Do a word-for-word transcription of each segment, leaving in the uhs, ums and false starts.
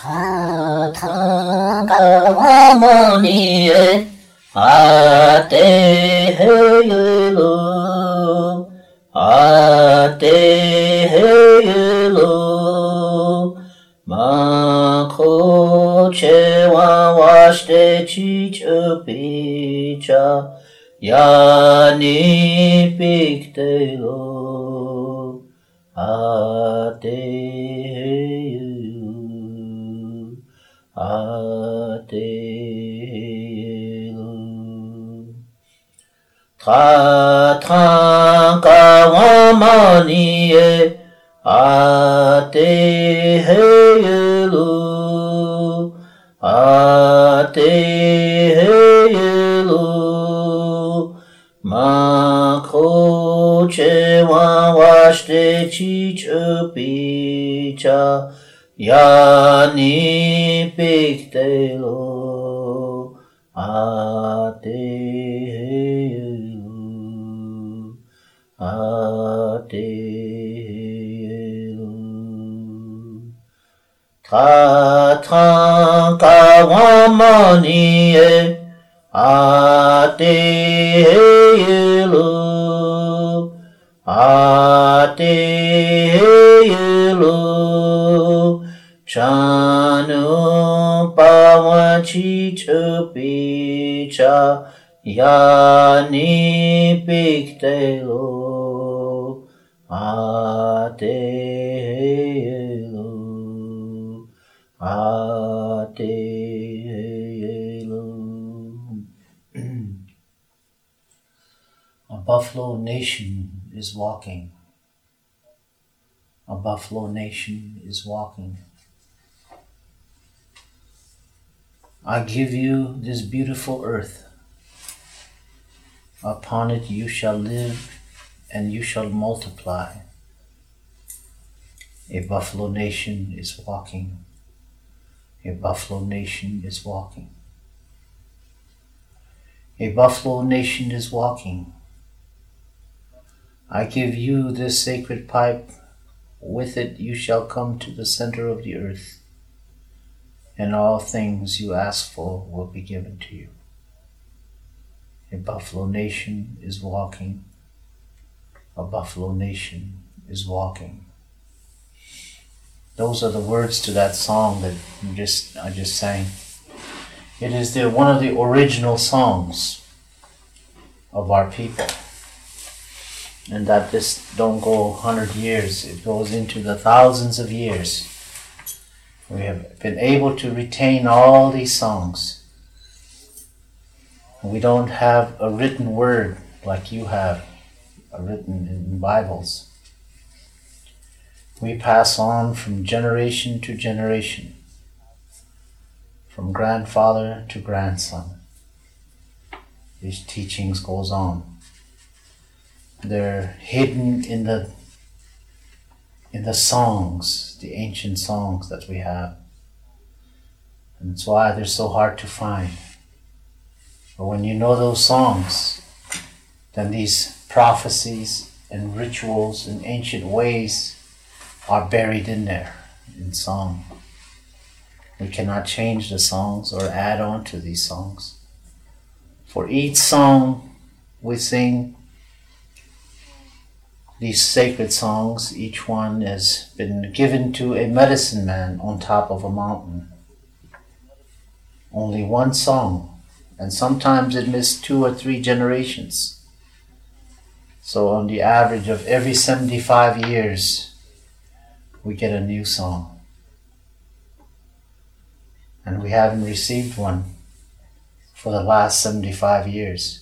타타가와모니에 아테헤일로 아테헤일로 마코체와 와시테 치처피차 야니 빅테로 아테헤일로 아테헤일로 타타가와마니에 아테헤일로 아테헤일로 마코체와 와시테 치처피차 야니 빅테로 아테헤일로 아테헤일로 타타가와마니에 아테헤일로 아테헤일로 찬우파와 치처피차 야니 빅테로 아테헤일로 아테헤일로. A buffalo nation is walking. A buffalo nation is walking. I give you this beautiful earth. Upon it you shall live and you shall multiply. A buffalo nation is walking. A buffalo nation is walking. A buffalo nation is walking. I give you this sacred pipe. With it you shall come to the center of the earth, and all things you ask for will be given to you. A buffalo nation is walking. A buffalo nation is walking. Those are the words to that song that you just I just sang. It is the, one of the original songs of our people. And that this don't go one hundred years, it goes into the thousands of years. We have been able to retain all these songs. We don't have a written word like you have, a written in Bibles. We pass on from generation to generation, from grandfather to grandson. These teachings goes on. They're hidden in the in the songs, the ancient songs that we have. And that's why they're so hard to find. But when you know those songs, then these prophecies and rituals and ancient ways are buried in there, in song. We cannot change the songs or add on to these songs. For each song we sing, these sacred songs, each one has been given to a medicine man on top of a mountain. Only one song, and sometimes it missed two or three generations. So on the average of every seventy-five years, we get a new song. And we haven't received one for the last seventy-five years.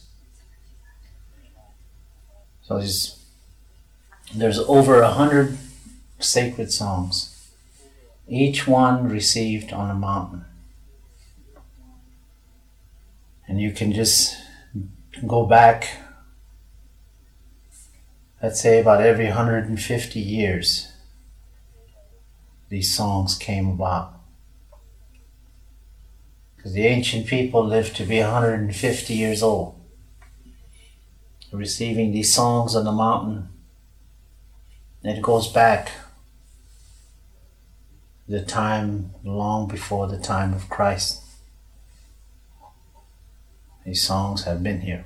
So there's There's over a hundred sacred songs, each one received on a mountain. And you can just go back, let's say about every one hundred fifty years, these songs came about. Because the ancient people lived to be one hundred fifty years old, receiving these songs on the mountain. It goes back the time long before the time of Christ. These songs have been here.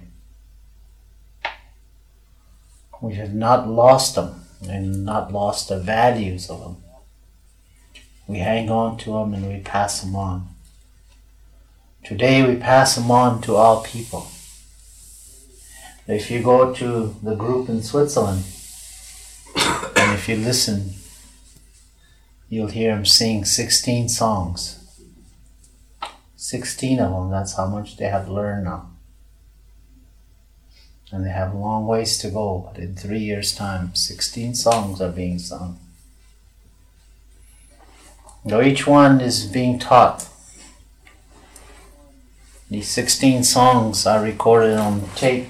We have not lost them and not lost the values of them. We hang on to them and we pass them on. Today we pass them on to all people. If you go to the group in Switzerland and if you listen, you'll hear them sing sixteen songs. sixteen of them, that's how much they have learned now. And they have long ways to go, but in three years' time, sixteen songs are being sung. Now each one is being taught. These sixteen songs are recorded on tape,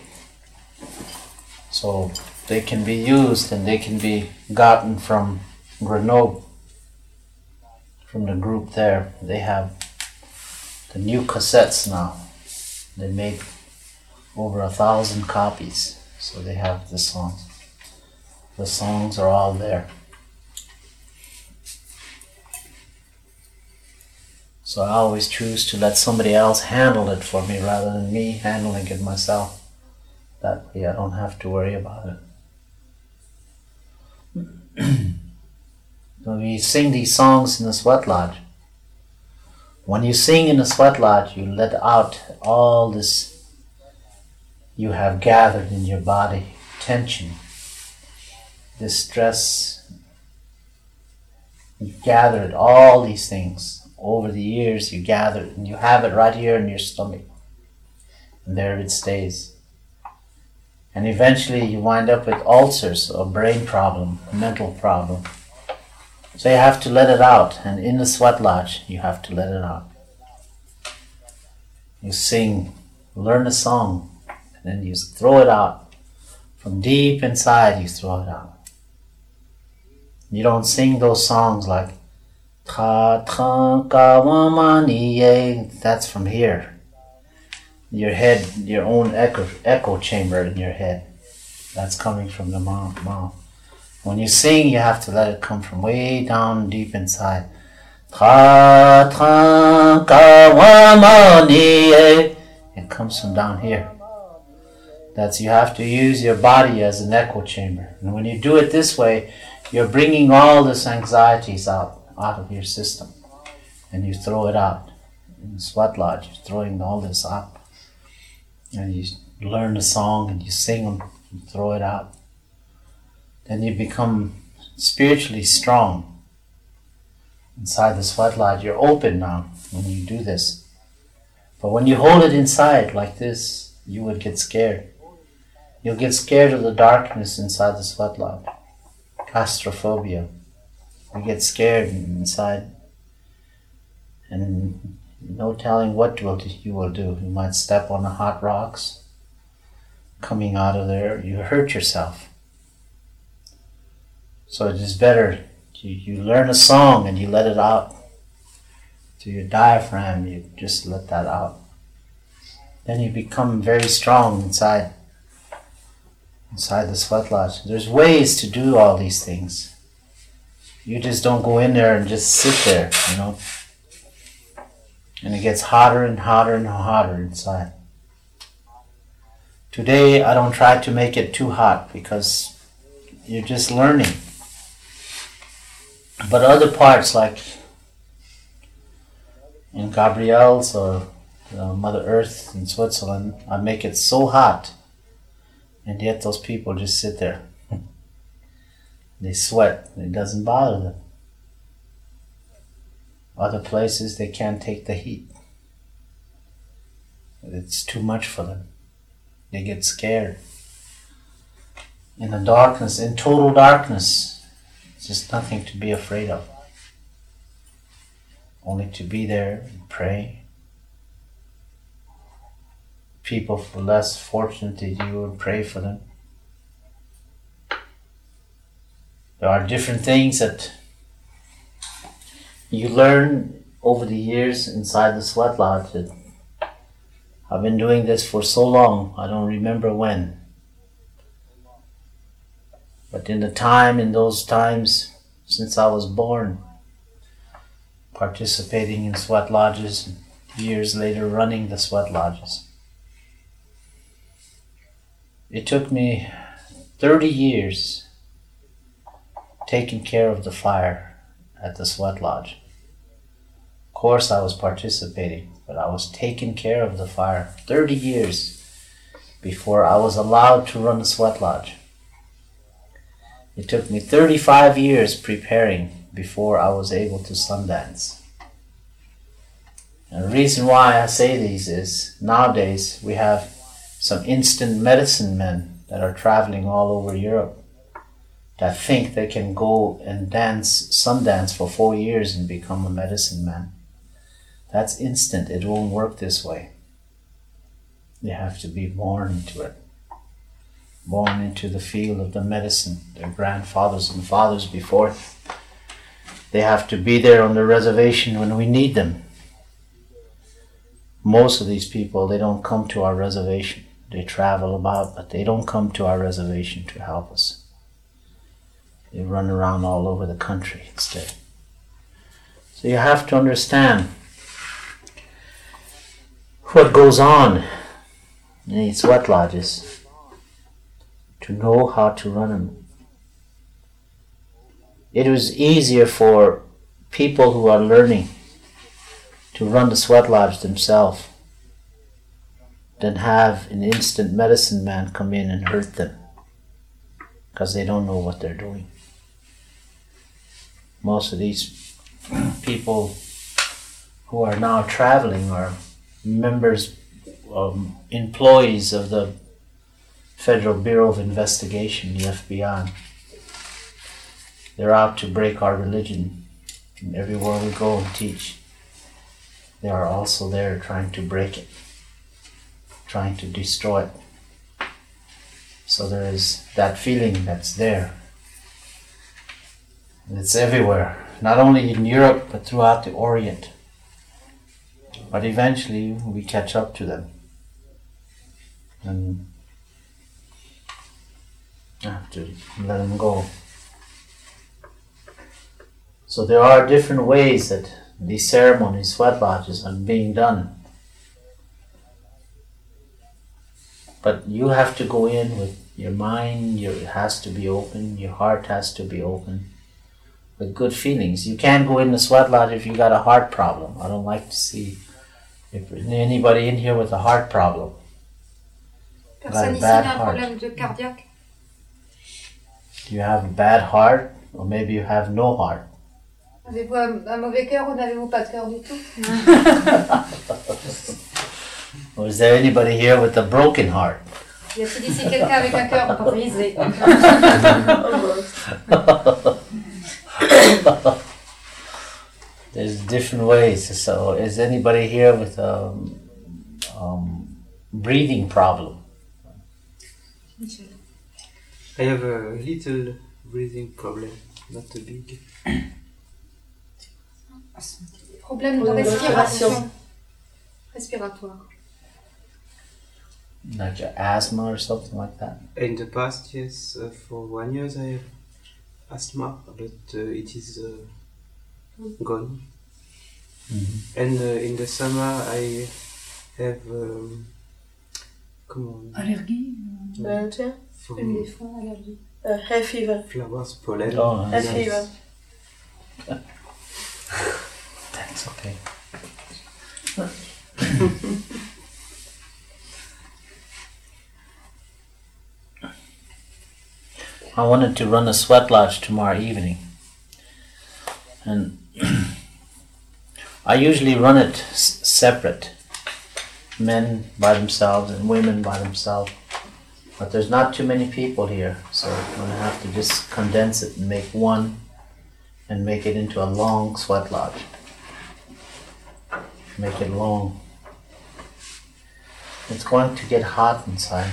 so they can be used and they can be gotten from Grenoble, from the group there. They have the new cassettes now. They made over a thousand copies, so they have the songs. The songs are all there. So I always choose to let somebody else handle it for me rather than me handling it myself. That way I don't have to worry about it. When we sing these songs in the sweat lodge, when you sing in the sweat lodge, you let out all this you have gathered in your body, tension, this stress. You gathered all these things. Over the years you gathered and you have it right here in your stomach. And there it stays. And eventually you wind up with ulcers, a brain problem, a mental problem. So you have to let it out. And in the sweat lodge, you have to let it out. You sing, learn a song, and then you throw it out. From deep inside, you throw it out. You don't sing those songs like Ta tra ka wa ma ni ye. That's from here. Your head, your own echo, echo chamber in your head. That's coming from the mouth. mouth. When you sing, you have to let it come from way down deep inside. Ta tra ka wa ma ni ye. It comes from down here. That's, you have to use your body as an echo chamber. And when you do it this way, you're bringing all this anxieties out. out of your system, and you throw it out. In the sweat lodge, you're throwing all this out. And you learn a song and you sing them, you throw it out. Then you become spiritually strong. Inside the sweat lodge, you're open now when you do this. But when you hold it inside like this, you would get scared. You'll get scared of the darkness inside the sweat lodge. Claustrophobia. You get scared inside, and no telling what you will do. You might step on the hot rocks coming out of there. You hurt yourself. So it is better you, you learn a song and you let it out to your diaphragm. You just let that out. Then you become very strong inside, inside the sweat lodge. There's ways to do all these things. You just don't go in there and just sit there, you know. And it gets hotter and hotter and hotter inside. Today, I don't try to make it too hot because you're just learning. But other parts, like in Gabriel's or uh, Mother Earth in Switzerland, I make it so hot. And yet those people just sit there. They sweat. It doesn't bother them. Other places, they can't take the heat. It's too much for them. They get scared. In the darkness, in total darkness, it's just nothing to be afraid of. Only to be there and pray. People less fortunate than you would pray for them. There are different things that you learn over the years inside the sweat lodge. That I've been doing this for so long, I don't remember when. But in the time, in those times, since I was born, participating in sweat lodges, and years later running the sweat lodges. It took me thirty years taking care of the fire at the sweat lodge. Of course I was participating, but I was taking care of the fire thirty years before I was allowed to run the sweat lodge. It took me thirty-five years preparing before I was able to Sundance. And the reason why I say these is nowadays we have some instant medicine men that are traveling all over Europe that think they can go and dance Sundance for four years and become a medicine man. That's instant. It won't work this way. You have to be born into it. Born into the field of the medicine. Their grandfathers and fathers before. They have to be there on the reservation when we need them. Most of these people, they don't come to our reservation. They travel about, but they don't come to our reservation to help us. They run around all over the country instead. So you have to understand what goes on in these sweat lodges to know how to run them. It was easier for people who are learning to run the sweat lodge themselves than have an instant medicine man come in and hurt them because they don't know what they're doing. Most of these people who are now traveling are members, um, employees of the Federal Bureau of Investigation, the F B I. They're out to break our religion, and everywhere we go and teach, they are also there trying to break it, trying to destroy it. So there is that feeling that's there. And it's everywhere, not only in Europe, but throughout the Orient. But eventually we catch up to them. And have to let them go. So there are different ways that these ceremonies, sweat lodges, are being done. But you have to go in with your mind, your, it has to be open, your heart has to be open, with good feelings. You can't go in the sweat lodge if you got a heart problem. I don't like to see if anybody in here with a heart problem. Personne ici n'a un problème de cardiaque. Do you have a bad heart, or maybe you have no heart? Avez-vous un, un mauvais cœur ou n'avez-vous pas de cœur du tout? Or is there anybody here with a broken heart? Y a-t-il ici quelqu'un avec un cœur brisé? There's different ways. So, is anybody here with a um, breathing problem? I have a little breathing problem, not a big. Problème de respiration. Respiratoire. Like your asthma or something like that? In the past, yes, uh, for one year I have asthma, but uh, it is uh, gone. Mm-hmm. And uh, in the summer I have um, comment Allergie? Uh, tiens, from Une des fois, allergie. uh, hay fever. flowers pollen. Oh, Hay nice. fever. That's okay. I wanted to run a sweat lodge tomorrow evening, and I usually run it s- separate, men by themselves and women by themselves, but there's not too many people here, so I'm going to have to just condense it and make one and make it into a long sweat lodge. Make it long. It's going to get hot inside,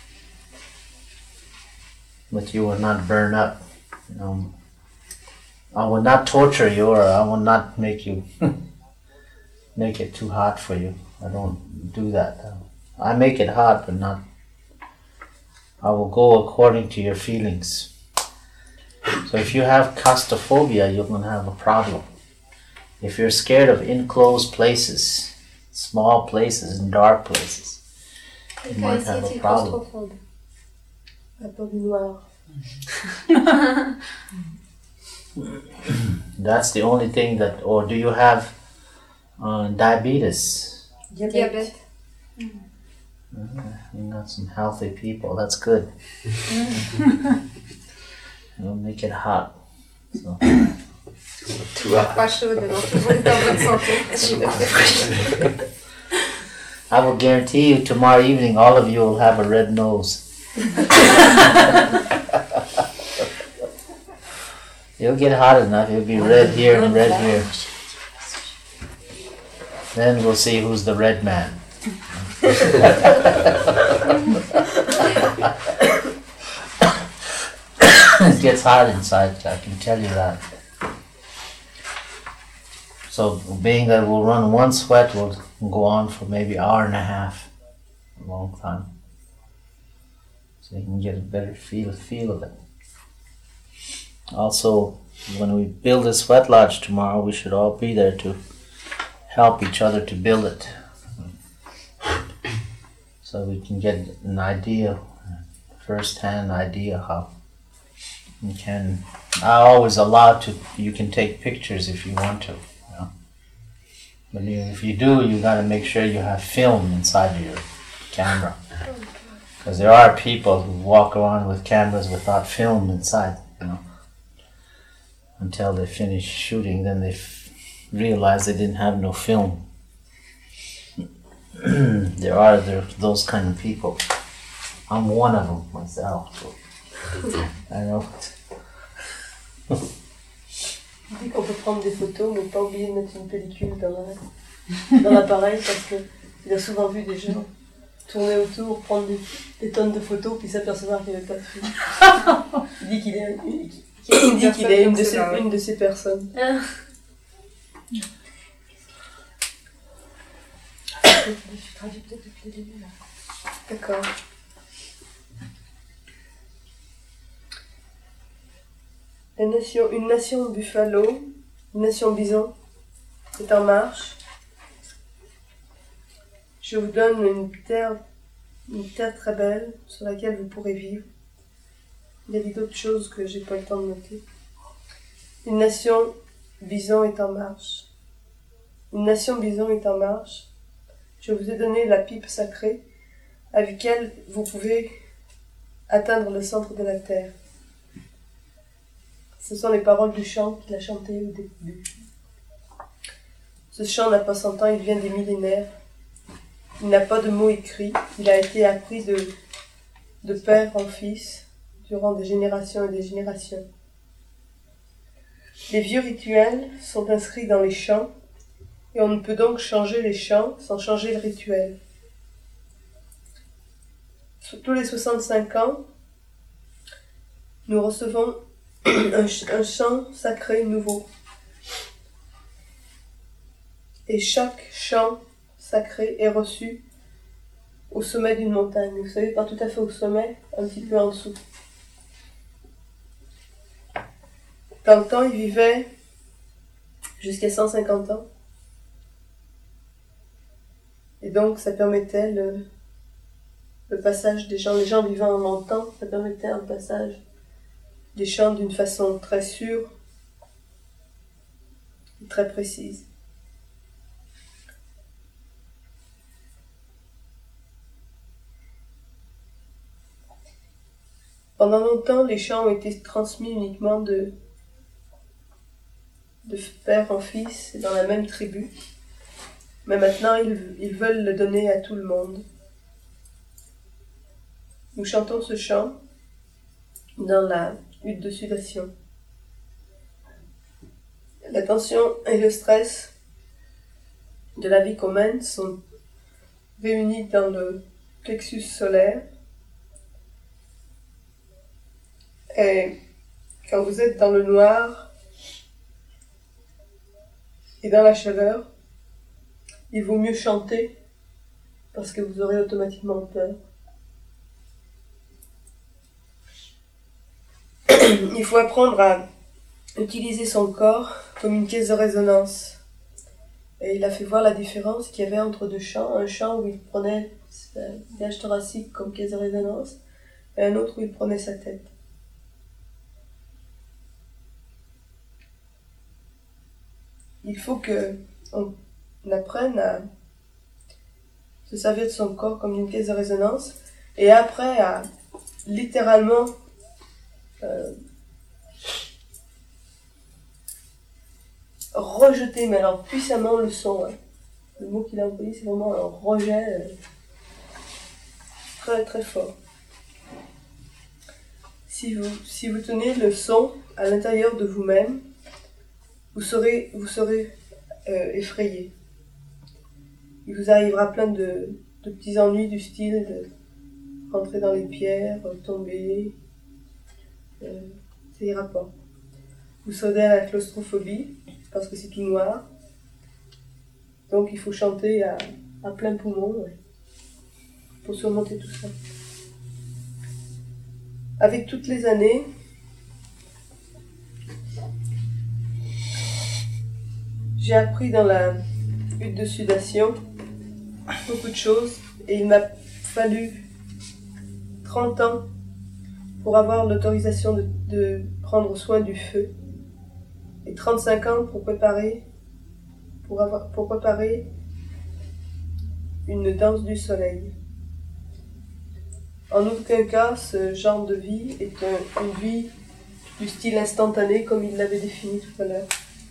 but you will not burn up. You know, I will not torture you, or I will not make you make it too hot for you. I don't do that. I make it hot, but not. I will go according to your feelings. So if you have claustrophobia, you're going to have a problem. if you're scared of enclosed places, small places and dark places, you might have a problem. La peur du noir. That's the only thing that, or do you have uh, diabetes? Diabète. Uh, you got some healthy people, that's good. It'll make it hot. So. Too hot. Pas chaude, donc tout le monde est en bonne santé. I will guarantee you tomorrow evening all of you will have a red nose. You'll get hot enough, you'll be red here and red here. Then we'll see who's the red man. It gets hot inside, I can tell you that. So being that we'll run one sweat, will go on for maybe an hour and a half, a long time. So you can get a better feel feel of it. Also, when we build a sweat lodge tomorrow, we should all be there to help each other to build it. So we can get an idea, first-hand idea how you can. I always allow to, you can take pictures if you want to. But if you do, you got to make sure you have film inside of your camera. Because there are people who walk around with cameras without film inside, you know. Until they finish shooting, then they f- realize they didn't have no film. There are there, those kind of people. I'm one of them myself. So I know. On dit qu'on peut prendre des photos, mais pas oublier de mettre une pellicule dans, la, dans l'appareil parce qu'il a souvent vu des gens tourner autour, prendre des, des tonnes de photos, puis s'apercevoir qu'il n'y avait pas de film. Il dit qu'il est, il, il dit qu'il est une, de ces, une de ces personnes. Je traduis peut-être depuis le début là. D'accord. La nation, une nation buffalo, une nation bison, est en marche. Je vous donne une terre, une terre très belle sur laquelle vous pourrez vivre. Il y a d'autres choses que j'ai pas le temps de noter. Une nation bison est en marche. Une nation bison est en marche. Je vous ai donné la pipe sacrée avec laquelle vous pouvez atteindre le centre de la terre. Ce sont les paroles du chant qu'il a chanté au début. Ce chant n'a pas cent ans, il vient des millénaires. Il n'a pas de mots écrits. Il a été appris de, de père en fils durant des générations et des générations. Les vieux rituels sont inscrits dans les chants et on ne peut donc changer les chants sans changer le rituel. Sur tous les soixante-cinq ans, nous recevons un, un chant sacré nouveau. Et chaque chant sacré est reçu au sommet d'une montagne. Vous savez, pas tout à fait au sommet, un petit peu en dessous. Dans le temps, il vivait jusqu'à cent cinquante ans. Et donc, ça permettait le, le passage des gens, les gens vivant longtemps, ça permettait un passage des chants d'une façon très sûre et très précise. Pendant longtemps, les chants ont été transmis uniquement de, de père en fils dans la même tribu. Mais maintenant, ils, ils veulent le donner à tout le monde. Nous chantons ce chant dans la hutte de sudation. La tension et le stress de la vie qu'on mène sont réunis dans le plexus solaire. Et quand vous êtes dans le noir et dans la chaleur, il vaut mieux chanter parce que vous aurez automatiquement peur. Il faut apprendre à utiliser son corps comme une caisse de résonance Et il a fait voir la différence qu'il y avait entre deux champs. Un champ où il prenait sa cage thoracique comme caisse de résonance et un autre où il prenait sa tête. Il faut qu'on apprenne à se servir de son corps comme une caisse de résonance et après à littéralement euh, rejeter, mais alors puissamment, le son. Hein. Le mot qu'il a employé, c'est vraiment un rejet euh, très très fort. Si vous, si vous tenez le son à l'intérieur de vous-même, vous serez, vous serez euh, effrayé. Il vous arrivera plein de, de petits ennuis du style de rentrer dans les pierres, tomber. Euh, ça ira pas. Vous serez à la claustrophobie, parce que c'est tout noir. Donc il faut chanter à, à plein poumon ouais, pour surmonter tout ça. Avec toutes les années, j'ai appris dans la hutte de sudation beaucoup de choses et il m'a fallu trente ans pour avoir l'autorisation de, de prendre soin du feu et trente-cinq ans pour préparer, pour avoir, pour préparer une danse du soleil. En aucun cas, ce genre de vie est un, une vie du style instantané comme il l'avait défini tout à l'heure.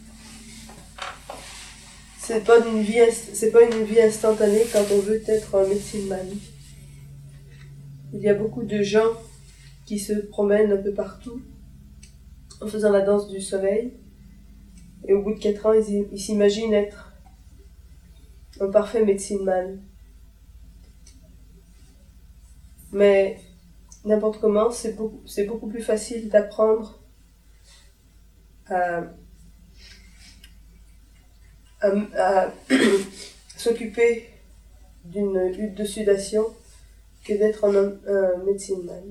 C'est pas une vie, c'est pas une vie instantanée quand on veut être un médecin man. Il y a beaucoup de gens qui se promènent un peu partout en faisant la danse du soleil et au bout de quatre ans, ils, ils s'imaginent être un parfait médecin man. Mais n'importe comment, c'est beaucoup, c'est beaucoup plus facile d'apprendre à, à, à s'occuper d'une hutte de sudation que d'être un, un médecin man.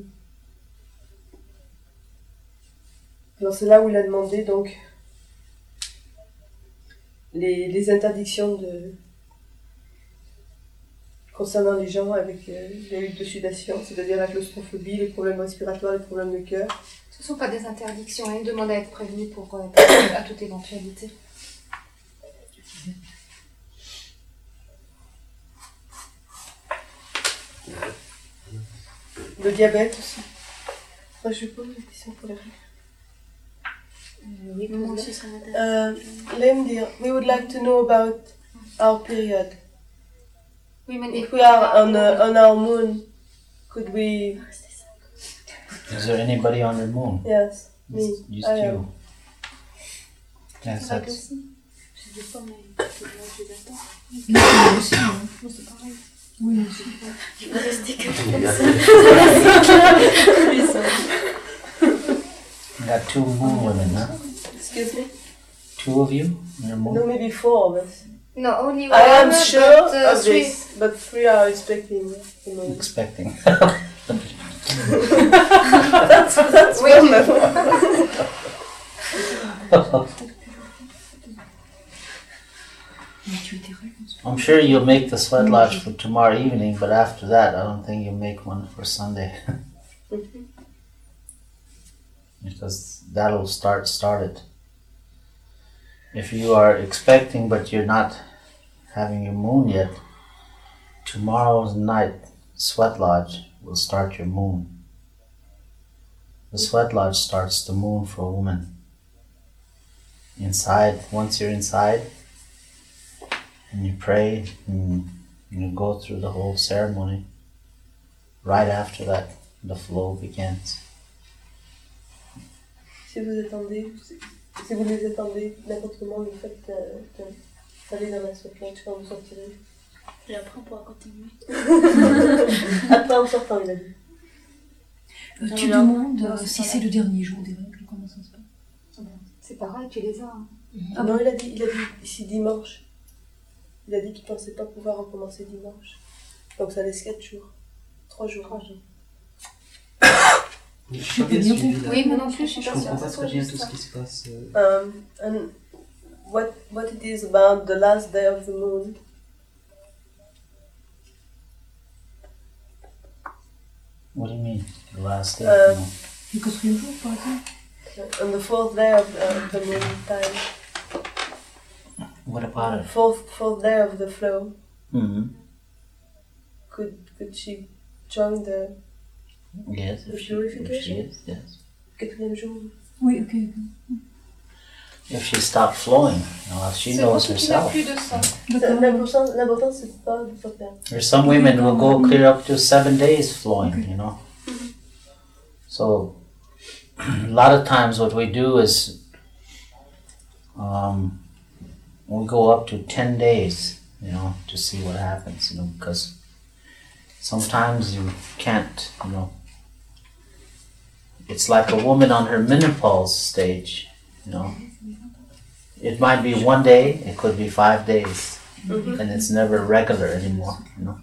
Alors c'est là où il a demandé donc les, les interdictions de concernant les gens avec euh, les huttes de sudation, c'est-à-dire la claustrophobie, les problèmes respiratoires, les problèmes de cœur. Ce ne sont pas des interdictions, hein, ils demandent à être prévenus pour, euh, à toute éventualité. Le diabète aussi. Moi, je pose une question pour les règles. Oui, moi aussi, ça m'intéresse. Uh, Lemdir, we would like to know about our period. If we are on, uh, on our moon, could we... Is there anybody on the moon? Yes, me. Just I you. am. Yes, that's... Je dis pas, mais je les attends. Moi aussi, hein. Moi, c'est pareil. Oui, moi aussi. Je vais rester comme ça. You got two moon women, huh? Excuse me? Two of you on the moon? No, maybe four of us. No, only one. I am sure but, uh, of three. this, but three are expecting. You know. Expecting. that's that's Oui. one level. I'm sure you'll make the sweat lodge for tomorrow evening, but after that, I don't think you'll make one for Sunday. Because that'll start start it. If you are expecting but you're not having your moon yet, tomorrow's night sweat lodge will start your moon. The sweat lodge starts the moon for a woman. Inside, once you're inside, and you pray, and you go through the whole ceremony, right after that, the flow begins. Si vous attendez, si vous les attendez, n'importe comment, le fait d'aller dans la sweat lodge quand vous sortirez. Et après, on pourra continuer. Après, en sortant, il a dit. Euh, tu demandes euh, si c'est le dernier jour des règles, comment ça se passe? C'est pareil, tu les as. Hein. Ah non, il a dit, il a dit ici dimanche. Il a dit qu'il ne pensait pas pouvoir recommencer dimanche. Donc ça laisse quatre jours. Trois jours. Trois jours. Je suis pas bien suivi là. Oui, moi non plus, je suis Je pas comprends sûre. pas très bien tout ce qui se passe. euh. Um, and what what it is about the last day of the moon. What do you mean? The last day? Uh, No. Le quatrième jour, par exemple. On the fourth day of the, of the moon time. What about it? Fourth fourth day of the flow. Mm-hmm. Could could she join the Yes, The if she, if she purification? is, yes. quatrième jour? Oui, ok. If she stopped flowing, you know, she C'est knows pour qu'il n'y a herself. plus de sang. D'accord. L'important, l'important c'est pas de pas perdre. There's some women who go clear up to seven days flowing, you know. So a lot of times what we do is um, we go up to ten days, you know, to see what happens, you know, because sometimes you can't, you know. It's like a woman on her menopause stage, you know. It might be one day, it could be five days, Mhm. and it's never regular anymore, you know.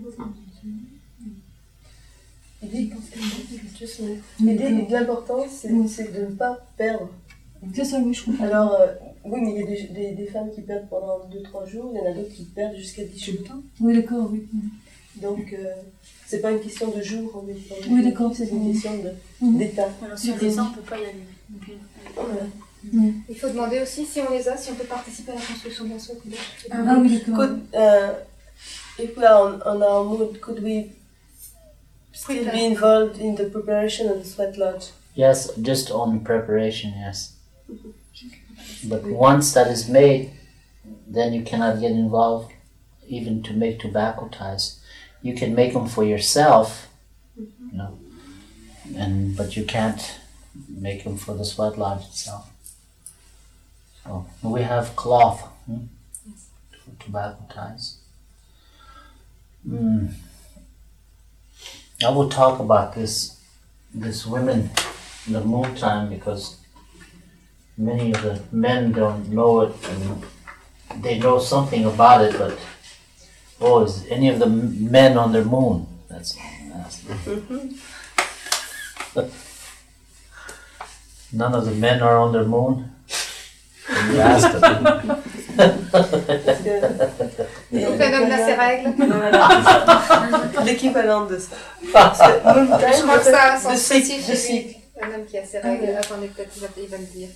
L'idée, juste une- l'idée de l'important, c'est, c'est de ne pas perdre. C'est ça, oui, je comprends. Alors, euh, oui, mais il y a des, des, des femmes qui perdent pendant deux trois jours, il y en a d'autres qui perdent jusqu'à dix jours. Oui, d'accord, oui. Donc, euh, c'est pas une question de jours, on est pas- Oui, d'accord, c'est c'est une ça. question de, Mhm. d'état. Voilà, si on les a, on peut pas y aller. Donc, euh, Voilà. Il faut demander aussi si on les a, si on peut participer à la construction d'un socle. Ah oui, d'accord. Could, uh, if we are on, on our mood, could we still Prepare. be involved in the preparation of the sweat lodge? Yes, just on preparation, yes. But once that is made, then you cannot get involved even to make tobacco ties. You can make them for yourself, you know, and but you can't make them for the sweat lodge itself. So we have cloth hmm, for tobacco ties. Mm. I will talk about this this women in the moon time because many of the men don't know it and they know something about it, but oh, is any of the m- men on their moon? That's all I'm asking. None of the men are on their moon? Can you ask them? Parce que Donc un homme a ses règles. l'équivalent de ça. Parce que moon time, Je crois que ça a un de sens cycle, précis de chez lui. cycle. Un homme qui a ses règles. Attendez, peut-être qu'il va, il va me dire.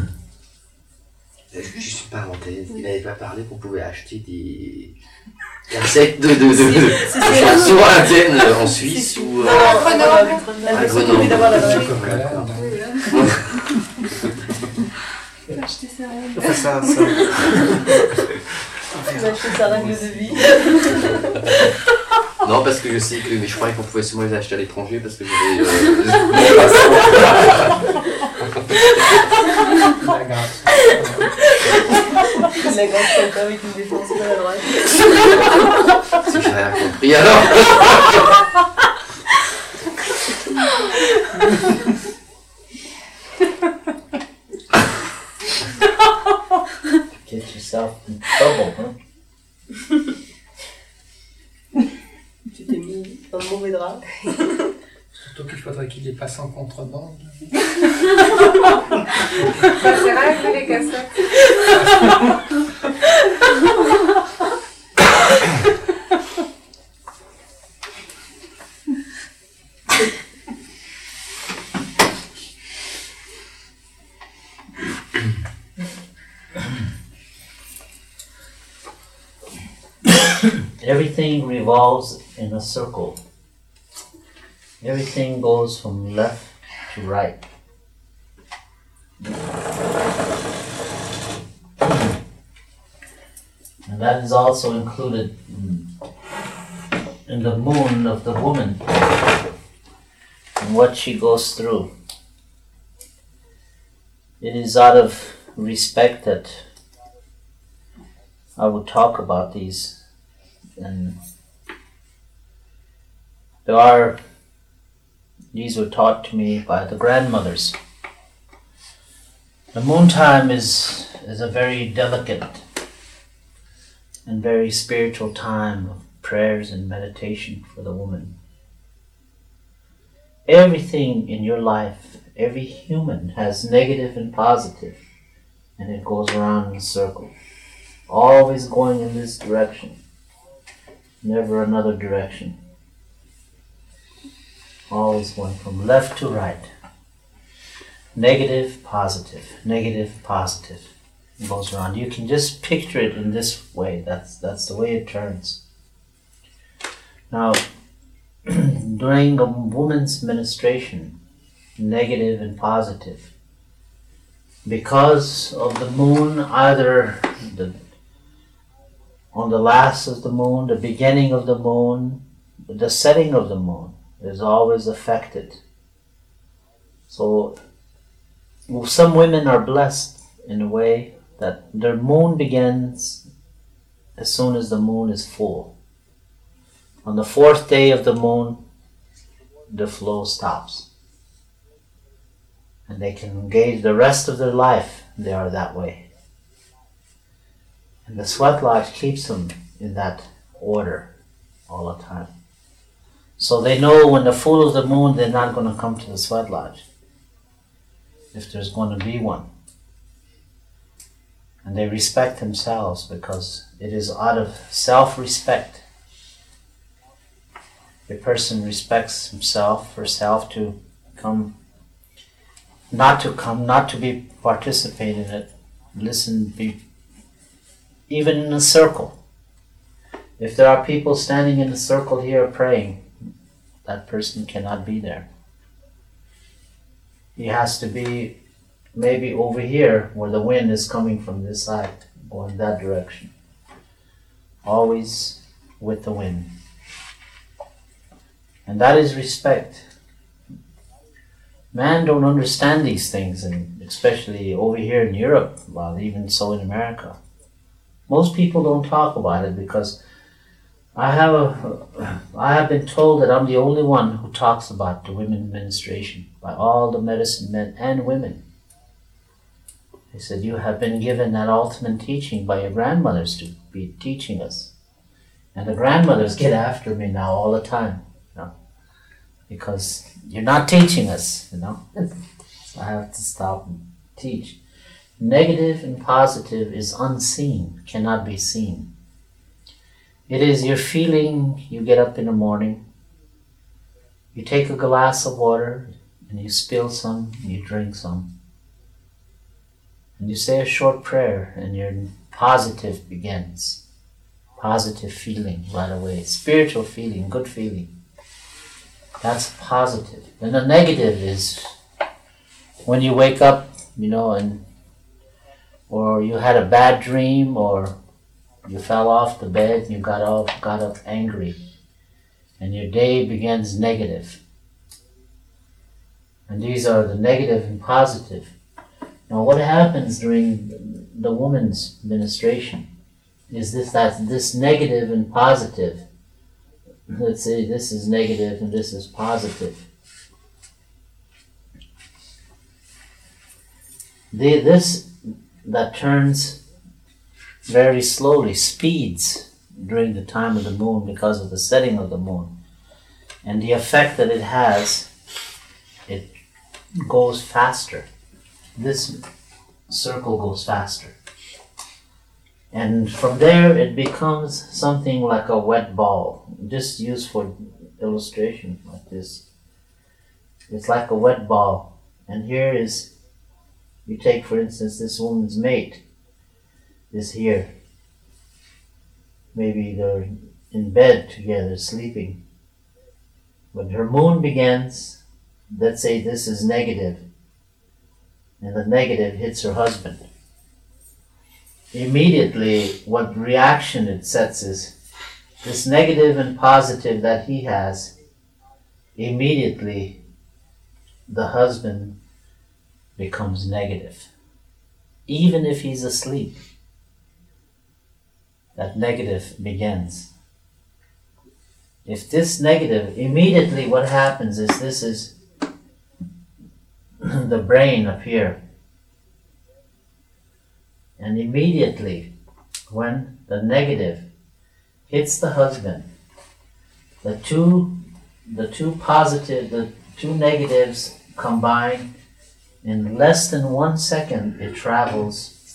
Je ne suis pas inventé. Il n'avait pas parlé qu'on pouvait acheter des cassettes de, de, de, de, Si, de si, chansons indiennes en Suisse ou Non, euh, non, Grenoble. la à personne Grenoble. envie d'avoir la vraie. D'accord. Acheter ça. Enfin, ça, ça. Il a acheté sa règle de vie. Non, parce que je sais que mais je croyais qu'on pouvait seulement les acheter à l'étranger parce que j'avais. Euh, La grâce. La grande santé avec une défense maladroite. si j'ai rien compris alors. Get yourself in trouble, huh? Tu t'es mis dans le mauvais drap. Surtout qu'il faudrait qu'il les passe en contrebande. Ça ses règles, les cassettes. Everything revolves in a circle. Everything goes from left to right. And that is also included in, in the moon of the woman and what she goes through. It is out of respect that I would talk about these, and there are, these were taught to me by the grandmothers. The moon time is, is a very delicate and very spiritual time of prayers and meditation for the woman. Everything in your life, every human has negative and positive. and it goes around in a circle, always going in this direction, never another direction, always going from left to right, negative, positive, negative, positive. It goes around. You can just picture it in this way. That's that's the way it turns. Now, during a woman's menstruation, negative and positive, because of the moon, either the, on the last of the moon, the beginning of the moon, the setting of the moon is always affected. So some women are blessed in a way that their moon begins as soon as the moon is full. On the fourth day of the moon, the flow stops. And they can engage the rest of their life, they are that way. And the sweat lodge keeps them in that order all the time. So they know when the full of the moon, they're not going to come to the sweat lodge, if there's going to be one. And they respect themselves because it is out of self-respect. A person respects himself, herself to come, not to come, not to be participate in it, listen, be even in a circle. If there are people standing in a circle here praying, that person cannot be there. He has to be maybe over here where the wind is coming from this side, going that direction. Always with the wind. And that is respect. Man don't understand these things, and especially over here in Europe, well, even so in America. Most people don't talk about it because I have a, I have been told that I'm the only one who talks about the women's menstruation by all the medicine men and women. They said, you have been given that ultimate teaching by your grandmothers to be teaching us. And the grandmothers get after me now all the time, you know, because you're not teaching us, you know. So I have to stop and teach. Negative and positive is unseen, cannot be seen. It is your feeling. You get up in the morning, you take a glass of water, and you spill some, and you drink some. And you say a short prayer, and your positive begins. Positive feeling right away. Spiritual feeling, good feeling. That's positive. And the negative is when you wake up, you know, and or you had a bad dream, or you fell off the bed and you got up, got up angry, and your day begins negative. And these are the negative and positive. Now, what happens during the woman's menstruation is this that this negative and positive. Let's say this is negative and this is positive. The, this that turns very slowly, speeds during the time of the moon because of the setting of the moon. And the effect that it has, it goes faster. This circle goes faster. And from there it becomes something like a wet ball. Just used for illustration like this. It's like a wet ball. And here is, you take for instance this woman's mate is here. Maybe they're in bed together sleeping. When her moon begins, let's say this is negative, and the negative hits her husband. Immediately, what reaction it sets is, this negative and positive that he has, immediately the husband becomes negative. Even if he's asleep, that negative begins. If this negative, immediately what happens is, this is the brain up here. And immediately, when the negative hits the husband, the two, the two positive, the two negatives combine. In less than one second, it travels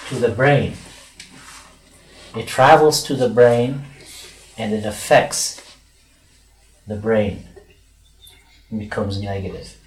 to the brain. It travels to the brain and it affects the brain. It becomes negative.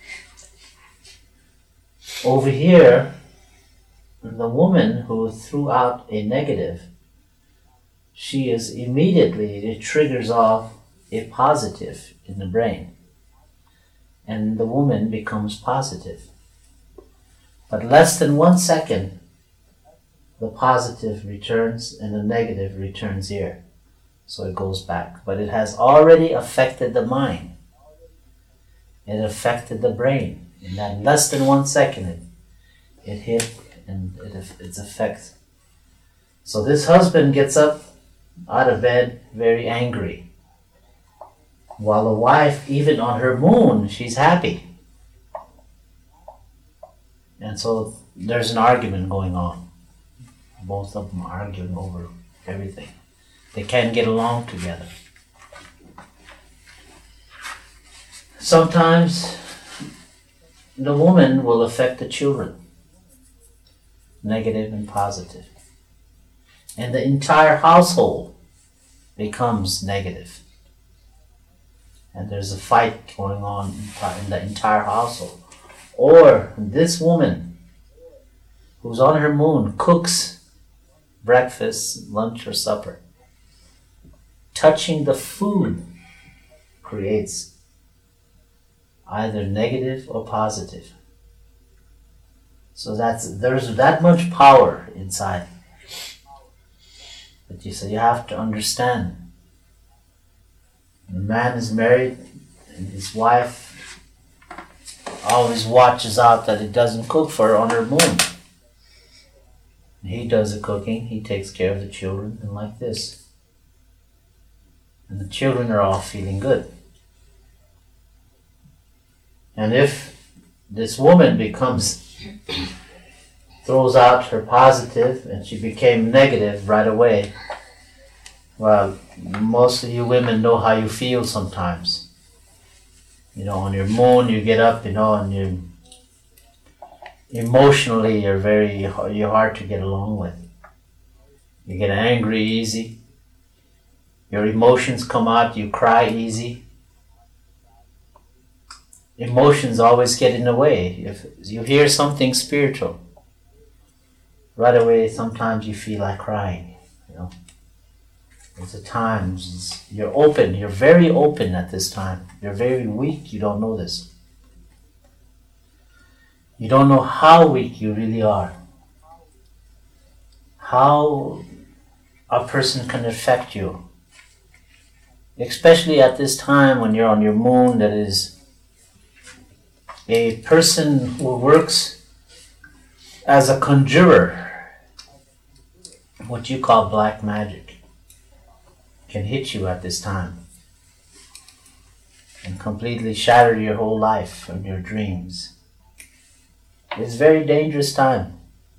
Over here, the woman who threw out a negative, she is immediately, it triggers off a positive in the brain. And the woman becomes positive. But less than one second, the positive returns and the negative returns here. So it goes back. But it has already affected the mind. It affected the brain. In that less than one second, it, it hit and it, its effect. So this husband gets up out of bed very angry. While the wife, even on her moon, she's happy. And so there's an argument going on. Both of them are arguing over everything. They can't get along together. Sometimes the woman will affect the children, negative and positive. And the entire household becomes negative. And there's a fight going on in the entire household. Or this woman who's on her moon cooks breakfast, lunch, or supper. Touching the food creates either negative or positive. So that's there's that much power inside. But you say you have to understand. When a man is married and his wife always watches out that he doesn't cook for her on her moon. He does the cooking, he takes care of the children, and like this. And the children are all feeling good. And if this woman becomes, throws out her positive and she became negative right away, well, most of you women know how you feel sometimes. You know, on your moon you get up, you know, and you emotionally you're very, you're hard to get along with. You get angry easy. Your emotions come out, you cry easy. Emotions always get in the way. If you hear something spiritual, right away sometimes you feel like crying, you know. There's a times you're open, you're very open at this time. You're very weak, you don't know this. You don't know how weak you really are. How a person can affect you. Especially at this time when you're on your moon, that is a person who works as a conjurer, what you call black magic, can hit you at this time and completely shatter your whole life and your dreams. It's a very dangerous time,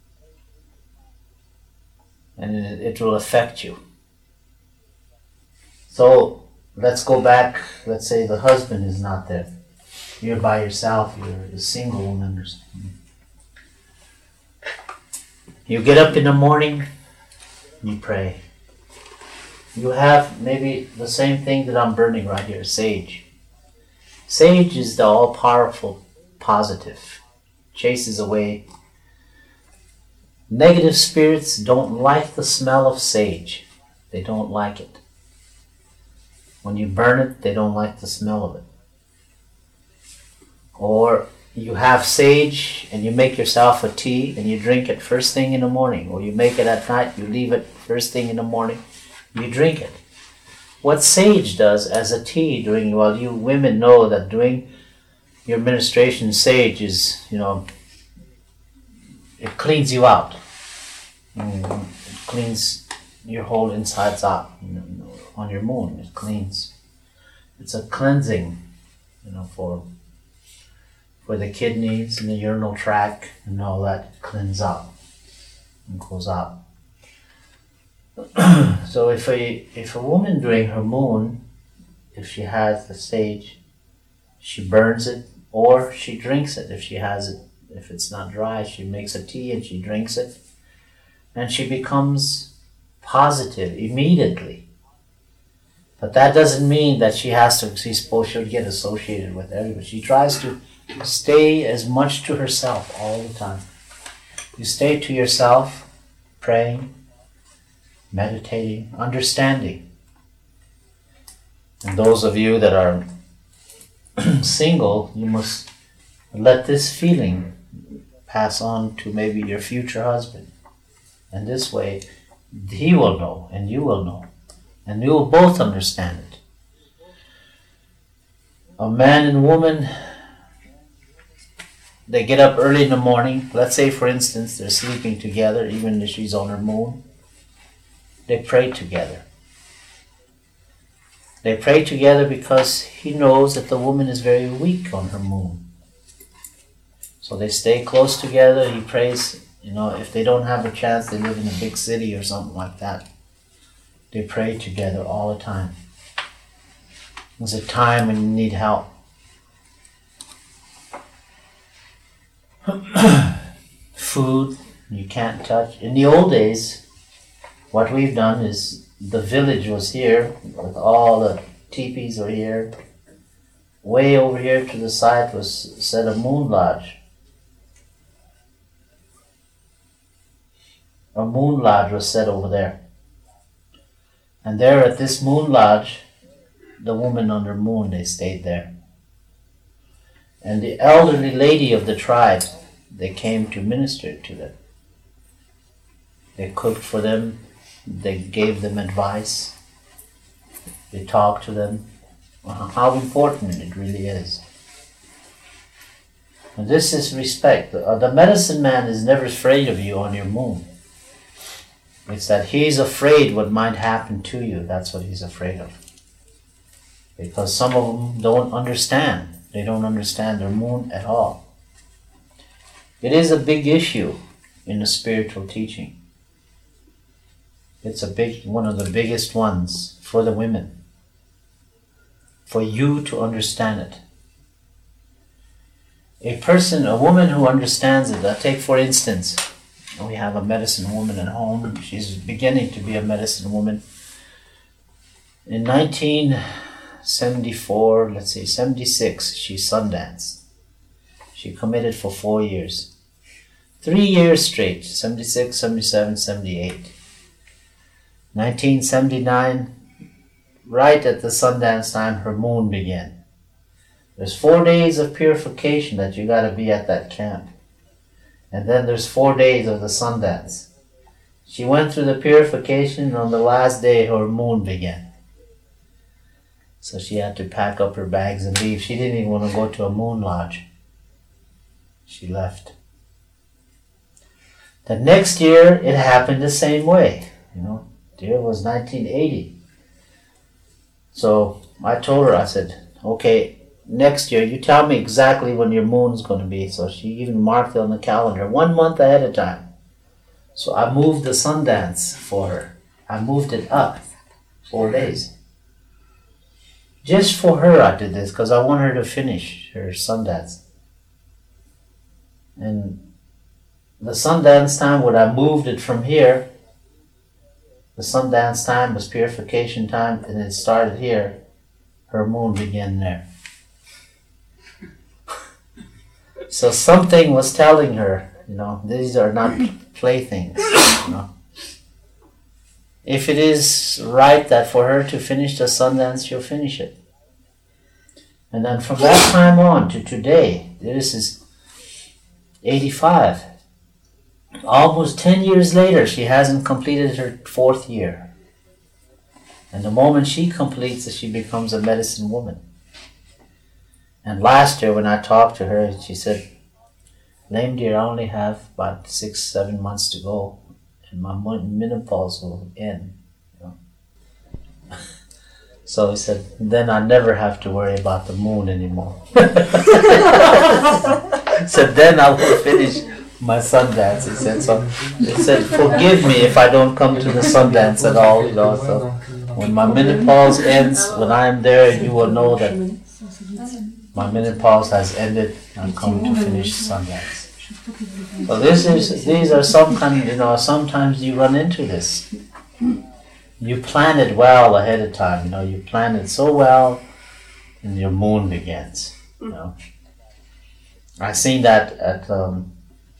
and it, it will affect you. So let's go back. Let's say the husband is not there. You're by yourself. You're a single woman. You get up in the morning, you pray. You have maybe the same thing that I'm burning right here, sage. Sage is the all-powerful positive. Chases away. Negative spirits don't like the smell of sage. They don't like it. When you burn it, they don't like the smell of it. Or you have sage and you make yourself a tea and you drink it first thing in the morning, or you make it at night, you leave it first thing in the morning, you drink it. What sage does as a tea during, well, you women know that doing your ministration, sage is, you know, it cleans you out. Mm, it cleans your whole insides out. You know, on your moon, it cleans. It's a cleansing, you know, for for the kidneys and the urinal tract and all that. It cleans out and goes out. So if a if a woman during her moon, if she has the sage, she burns it or she drinks it if she has it. If it's not dry, she makes a tea and she drinks it. and she becomes positive immediately. But that doesn't mean that she has to, she's supposed to get associated with everybody. She tries to stay as much to herself all the time. You stay to yourself, praying, meditating, understanding. And those of you that are single, you must let this feeling pass on to maybe your future husband. And this way, he will know and you will know. And you will both understand it. A man and woman, they get up early in the morning. Let's say, for instance, they're sleeping together, even if she's on her moon. They pray together. They pray together because he knows that the woman is very weak on her moon. So they stay close together. He prays, you know, if they don't have a chance, they live in a big city or something like that. They pray together all the time. There's a time when you need help. Food you can't touch. In the old days, what we've done is the village was here with all the teepees were here. Way over here to the side was set a moon lodge. A moon lodge was set over there. And there at this moon lodge, the woman on her moon, they stayed there. And the elderly lady of the tribe, they came to minister to them. They cooked for them, they gave them advice, they talked to them, how important it really is. And this is respect. The medicine man is never afraid of you on your moon. It's that he's afraid what might happen to you. That's what he's afraid of. Because some of them don't understand. They don't understand their moon at all. It is a big issue in the spiritual teaching. It's a big, one of the biggest ones for the women. For you to understand it. A person, a woman who understands it, I'll take for instance, we have a medicine woman at home. She's beginning to be a medicine woman. In nineteen seventy-four, let's say seventy-six, she sundanced. She committed for four years. Three years straight, seventy-six, seventy-seven, seventy-eight. nineteen seventy-nine, right at the Sundance time, her moon began. There's four days of purification that you got to be at that camp. And then there's four days of the Sundance. She went through the purification, and on the last day her moon began. So she had to pack up her bags and leave. She didn't even want to go to a moon lodge. She left. The next year it happened the same way. You know, the year was nineteen eighty. So I told her, I said, okay, next year you tell me exactly when your moon's going to be. So she even marked it on the calendar one month ahead of time. So I moved the Sundance for her. I moved it up four days. Just for her I did this, because I want her to finish her Sundance. And the Sundance time, when I moved it from here, the Sundance time was purification time, and it started here. Her moon began there. So something was telling her, you know, these are not playthings, you know. If it is right that for her to finish the Sundance, she'll finish it. And then from that time on to today, this is eighty-five. Almost ten years later, she hasn't completed her fourth year. And the moment she completes it, she becomes a medicine woman. And last year when I talked to her, she said, Lame dear, I only have about six, seven months to go, and my menopause will end. You know? So he said, then I never have to worry about the moon anymore. So then I will finish my Sundance, he said. So he said, forgive me if I don't come to the Sundance at all, you know. So when my menopause ends, when I am there, you will know that my menopause has ended. I'm coming to finish Sundance. So this is, these are some kind, you know, sometimes you run into this. You plan it well ahead of time, you know, you plan it so well, and your moon begins, you know. I seen that at, um,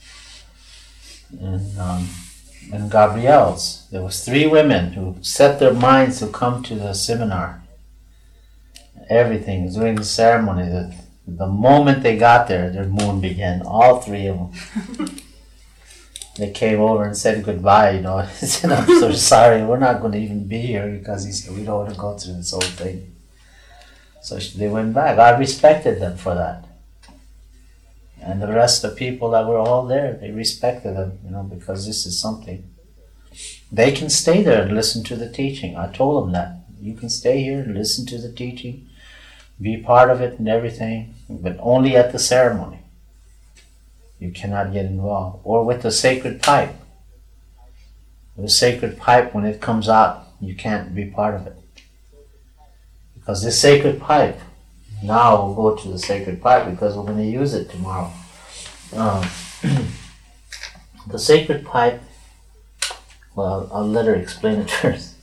in, um, in Gabrielle's. There was three women who set their minds to come to the seminar. Everything, during the ceremony, the, the moment they got there, their moon began, all three of them. They came over and said goodbye, you know. I said, I'm so sorry, we're not going to even be here, because he said, we don't want to go through this whole thing. So they went back. I respected them for that. And the rest of the people that were all there, they respected them, you know, because this is something. They can stay there and listen to the teaching. I told them that. You can stay here and listen to the teaching, be part of it and everything, but only at the ceremony. You cannot get involved. Or with the sacred pipe. The sacred pipe, when it comes out, you can't be part of it. Because this sacred pipe, now we'll go to the sacred pipe because we're going to use it tomorrow. Um, the sacred pipe, well, I'll let her explain it first.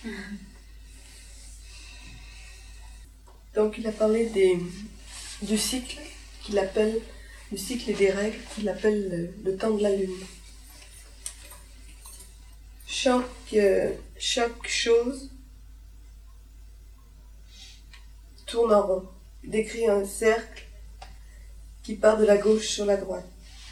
Donc il a parlé des, du cycle qu'il appelle, du cycle et des règles qu'il appelle le, le temps de la lune. Chaque, euh, chaque chose tourne en rond, décrit un cercle qui part de la gauche sur la droite.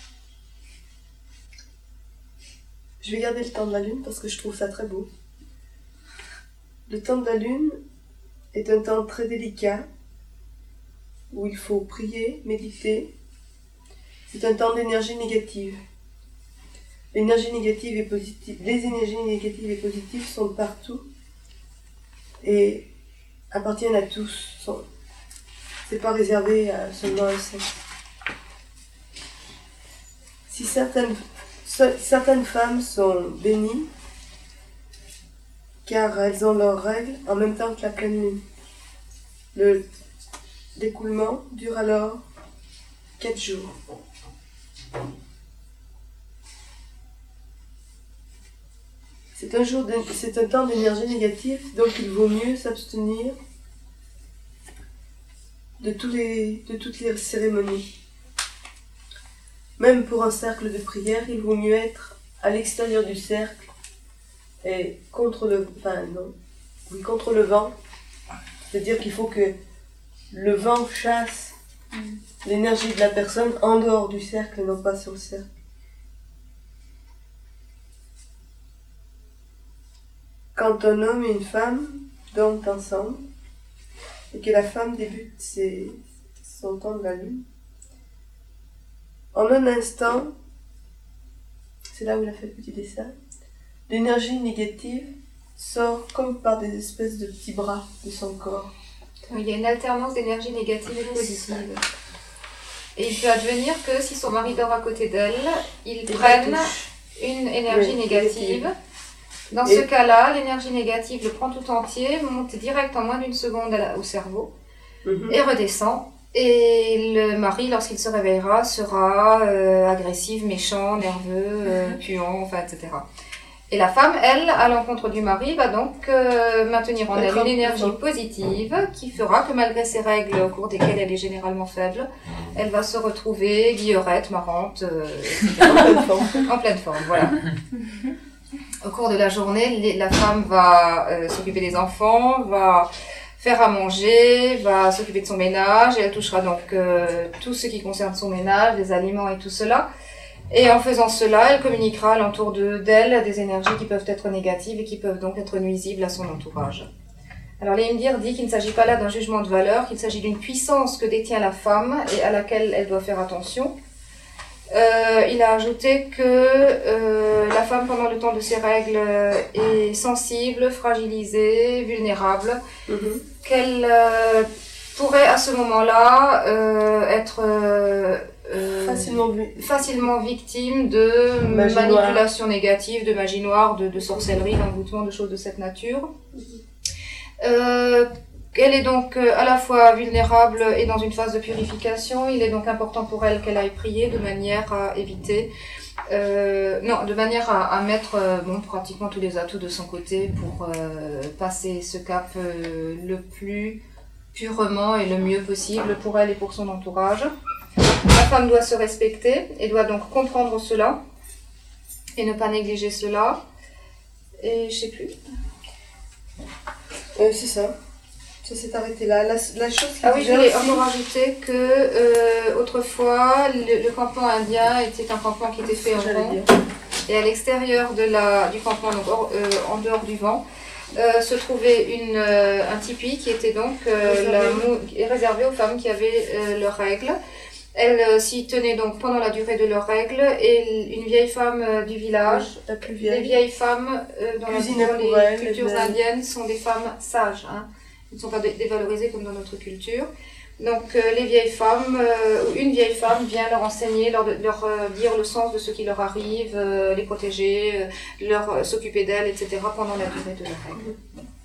Je vais garder le temps de la lune parce que je trouve ça très beau. Le temps de la lune est un temps très délicat où il faut prier, méditer. C'est un temps d'énergie négative. L'énergie négative et positive, les énergies négatives et positives sont partout et appartiennent à tous. Sont, c'est pas réservé à seulement un sexe. Si certaines, certaines femmes sont bénies, car elles ont leurs règles en même temps que la pleine lune. Le découlement dure alors quatre jours. C'est un, jour de, c'est un temps d'énergie négative, donc il vaut mieux s'abstenir de, tous les, de toutes les cérémonies. Même pour un cercle de prière, il vaut mieux être à l'extérieur du cercle et contre le, enfin non, oui, contre le vent. C'est-à-dire qu'il faut que le vent chasse l'énergie de la personne en dehors du cercle et non pas sur le cercle. Quand un homme et une femme dorment ensemble et que la femme débute ses, son temps de la lune, en un instant, c'est là où il a fait le petit dessin, l'énergie négative sort comme par des espèces de petits bras de son corps. Il y a une alternance d'énergie négative et positive. Et il peut advenir que si son mari dort à côté d'elle, ils prennent une énergie oui, négative. Dans et ce cas-là, l'énergie négative le prend tout entier, monte direct en moins d'une seconde au cerveau mm-hmm. et redescend. Et le mari, lorsqu'il se réveillera, sera euh, agressif, méchant, nerveux, euh, puant, enfin, et cetera. Et la femme, elle, à l'encontre du mari, va donc euh, maintenir en elle une énergie positive qui fera que malgré ses règles au cours desquelles elle est généralement faible, elle va se retrouver guillerette, marrante, euh, en pleine forme. En pleine forme, voilà. Au cours de la journée, les, la femme va euh, s'occuper des enfants, va faire à manger, va s'occuper de son ménage, et elle touchera donc euh, tout ce qui concerne son ménage, les aliments et tout cela. Et en faisant cela, elle communiquera alentour de, d'elle des énergies qui peuvent être négatives et qui peuvent donc être nuisibles à son entourage. Alors l'Imdir dit qu'il ne s'agit pas là d'un jugement de valeur, qu'il s'agit d'une puissance que détient la femme et à laquelle elle doit faire attention. Euh, il a ajouté que euh, la femme, pendant le temps de ses règles, est sensible, fragilisée, vulnérable, mm-hmm. qu'elle euh, pourrait à ce moment-là euh, être euh, euh, facilement, facilement victime de magie manipulation noire. Négative, de magie noire, de, de sorcellerie, d'envoûtement, de choses de cette nature. Mm-hmm. Euh, Elle est donc euh, à la fois vulnérable et dans une phase de purification. Il est donc important pour elle qu'elle aille prier de manière à éviter, euh, non, de manière à, à mettre euh, bon, pratiquement tous les atouts de son côté pour euh, passer ce cap euh, le plus purement et le mieux possible pour elle et pour son entourage. La femme doit se respecter et doit donc comprendre cela et ne pas négliger cela. Et je sais plus. Euh, c'est ça. Ça s'est arrêté là. La, la chose qui Ah oui, je voulais aussi... encore rajouter que euh, autrefois, le, le campement indien était un campement qui était fait en J'allais rond. dire. Et à l'extérieur de la, du campement, donc hors- euh, en dehors du vent, euh, se trouvait une, euh, un tipi qui était donc euh, la mou- réservé aux femmes qui avaient euh, leurs règles. Elles euh, s'y tenaient donc pendant la durée de leurs règles et une vieille femme euh, du village, La plus les vieille. vieilles femmes euh, dans, la, Cuisinaient dans pour les elles, cultures elles- indiennes sont des femmes sages. Hein. Elles ne sont pas dé- dévalorisées comme dans notre culture. Donc euh, les vieilles femmes, euh, une vieille femme vient leur enseigner, leur, leur euh, dire le sens de ce qui leur arrive, euh, les protéger, euh, leur euh, s'occuper d'elles, et cetera pendant la durée de leurs règles.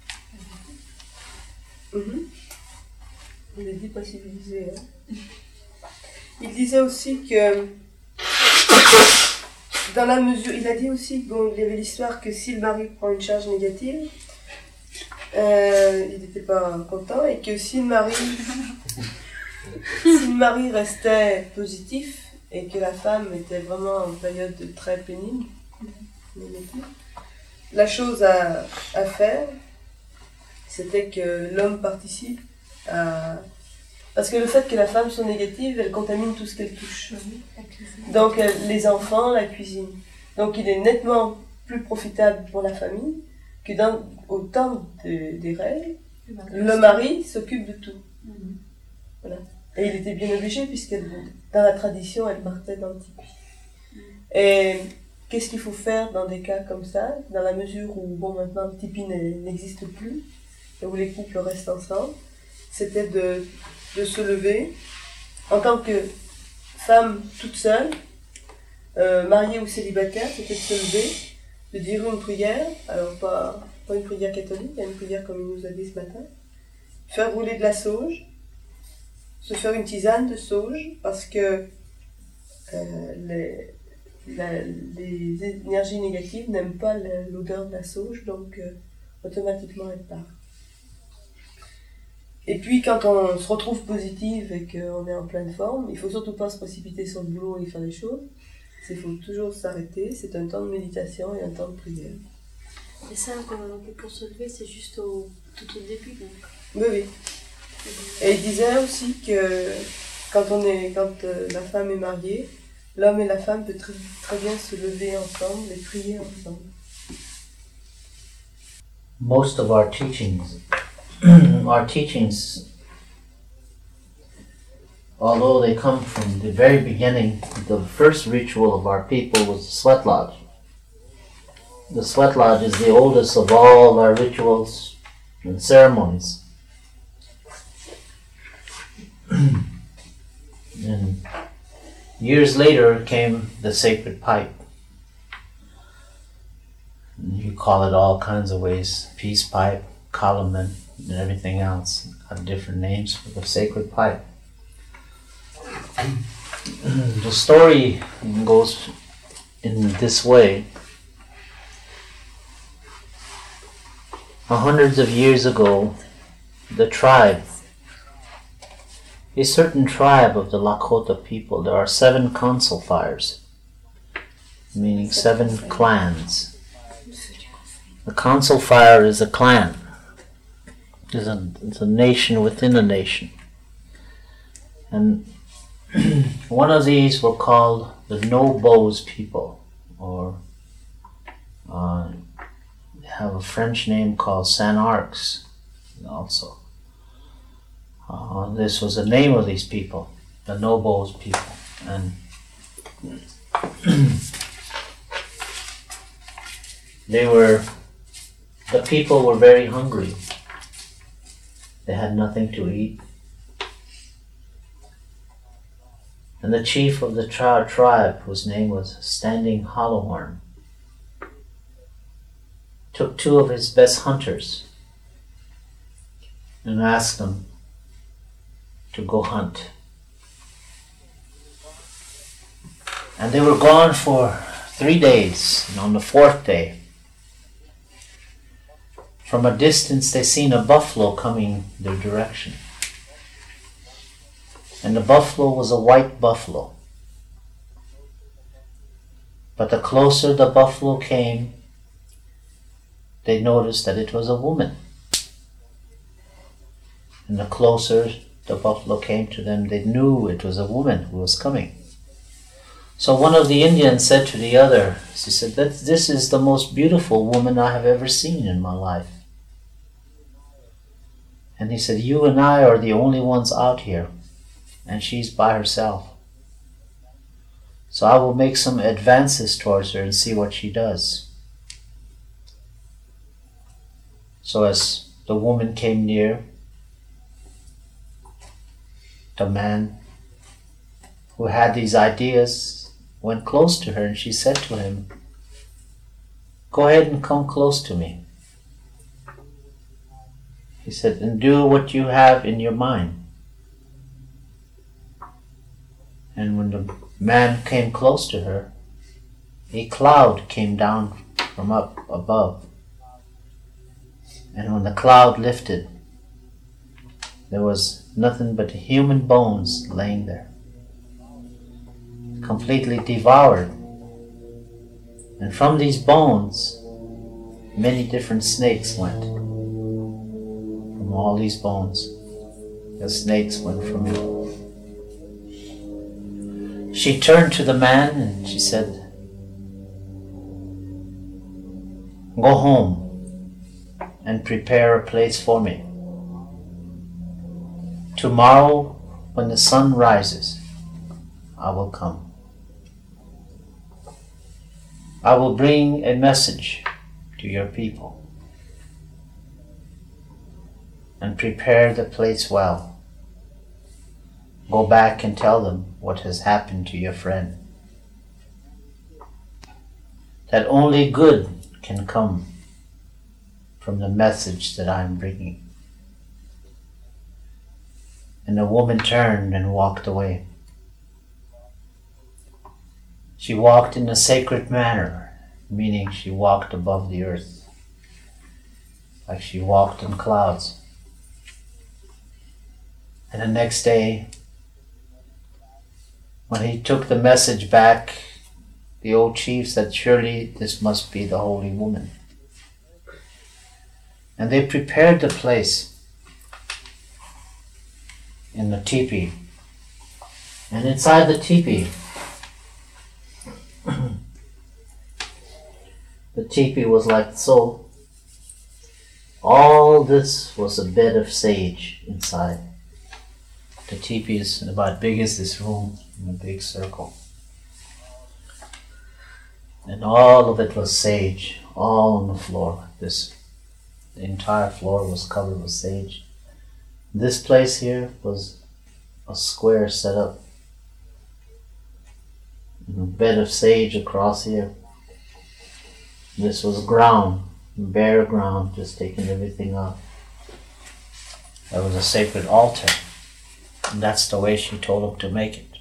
Mhm. On est dit pas civilisé. Hein. Il disait aussi que dans la mesure, il a dit aussi qu'il bon, y avait l'histoire que si le mari prend une charge négative, euh, il n'était pas content et que si le mari, si le mari restait positif et que la femme était vraiment en période très pénible, la chose à, à faire, c'était que l'homme participe à... Parce que le fait que la femme soit négative, elle contamine tout ce qu'elle touche. Donc elle- les enfants, la cuisine. Donc il est nettement plus profitable pour la famille que dans, au temps de- des règles, le mari s'occupe de tout. Voilà. Et il était bien obligé puisque dans la tradition, elle partait dans le tipi. Et qu'est-ce qu'il faut faire dans des cas comme ça, dans la mesure où bon maintenant le tipi n'est- n'existe plus et où les couples restent ensemble, c'était de, de se lever en tant que femme toute seule, euh, mariée ou célibataire, c'était de se lever, de dire une prière, alors pas, pas une prière catholique, mais une prière comme il nous a dit ce matin, faire rouler de la sauge, se faire une tisane de sauge, parce que euh, les, la- les énergies négatives n'aiment pas la- l'odeur de la sauge, donc euh, automatiquement elles partent. Et puis quand on se retrouve positive et qu'on est en pleine forme, il faut surtout pas se précipiter sur le boulot et faire les choses. Il faut toujours s'arrêter, c'est un temps de méditation et un temps de prière. Et ça, quand- pour se lever, c'est juste au, tout au début. Donc. Oui, oui. Et il disait aussi que quand, on est, quand euh, la femme est mariée, l'homme et la femme peuvent très, très bien se lever ensemble et prier ensemble. Most of our teachings, our teachings, although they come from the very beginning, the first ritual of our people was the sweat lodge. The sweat lodge is the oldest of all our rituals and ceremonies. And years later came the sacred pipe. You call it all kinds of ways, peace pipe, calumet, and everything else. Have different names for the sacred pipe. The story goes in this way. Hundreds of years ago, the tribe, a certain tribe of the Lakota people, there are seven council fires, meaning seven clans. The council fire is a clan. It's a, it's a nation within a nation. And one of these were called the No-Bows people, or uh, they have a French name called Saint-Arcs also. Uh, this was the name of these people, the No-Bows people. And they were, the people were very hungry. They had nothing to eat. And the chief of the tri- tribe, whose name was Standing Hollowhorn, took two of his best hunters and asked them to go hunt. And they were gone for three days, and on the fourth day, from a distance they seen a buffalo coming their direction. And the buffalo was a white buffalo. But the closer the buffalo came, they noticed that it was a woman. And the closer the buffalo came to them, they knew it was a woman who was coming. So one of the Indians said to the other, she said, that this is the most beautiful woman I have ever seen in my life. And he said, you and I are the only ones out here, and she's by herself. So I will make some advances towards her and see what she does. So as the woman came near, the man who had these ideas went close to her, and she said to him, go ahead and come close to me. He said, and do what you have in your mind. And when the man came close to her, a cloud came down from up above. And when the cloud lifted, there was nothing but human bones laying there, completely devoured. And from these bones, many different snakes went. From all these bones, the snakes went from it. She turned to the man and she said, go home and prepare a place for me. Tomorrow, when the sun rises, I will come. I will bring a message to your people and prepare the place well. Go back and tell them what has happened to your friend. That only good can come from the message that I am bringing. And the woman turned and walked away. She walked in a sacred manner, meaning she walked above the earth, like she walked in clouds. And the next day, when he took the message back, the old chief said, surely this must be the holy woman. And they prepared the place in the teepee. And inside the teepee, the teepee was like so. All this was a bed of sage inside. The teepee is about big as this room, in a big circle. And all of it was sage, all on the floor. This, the entire floor was covered with sage. This place here was a square set up. A bed of sage across here. This was ground, bare ground, just taking everything out. There was a sacred altar. And that's the way she told him to make it.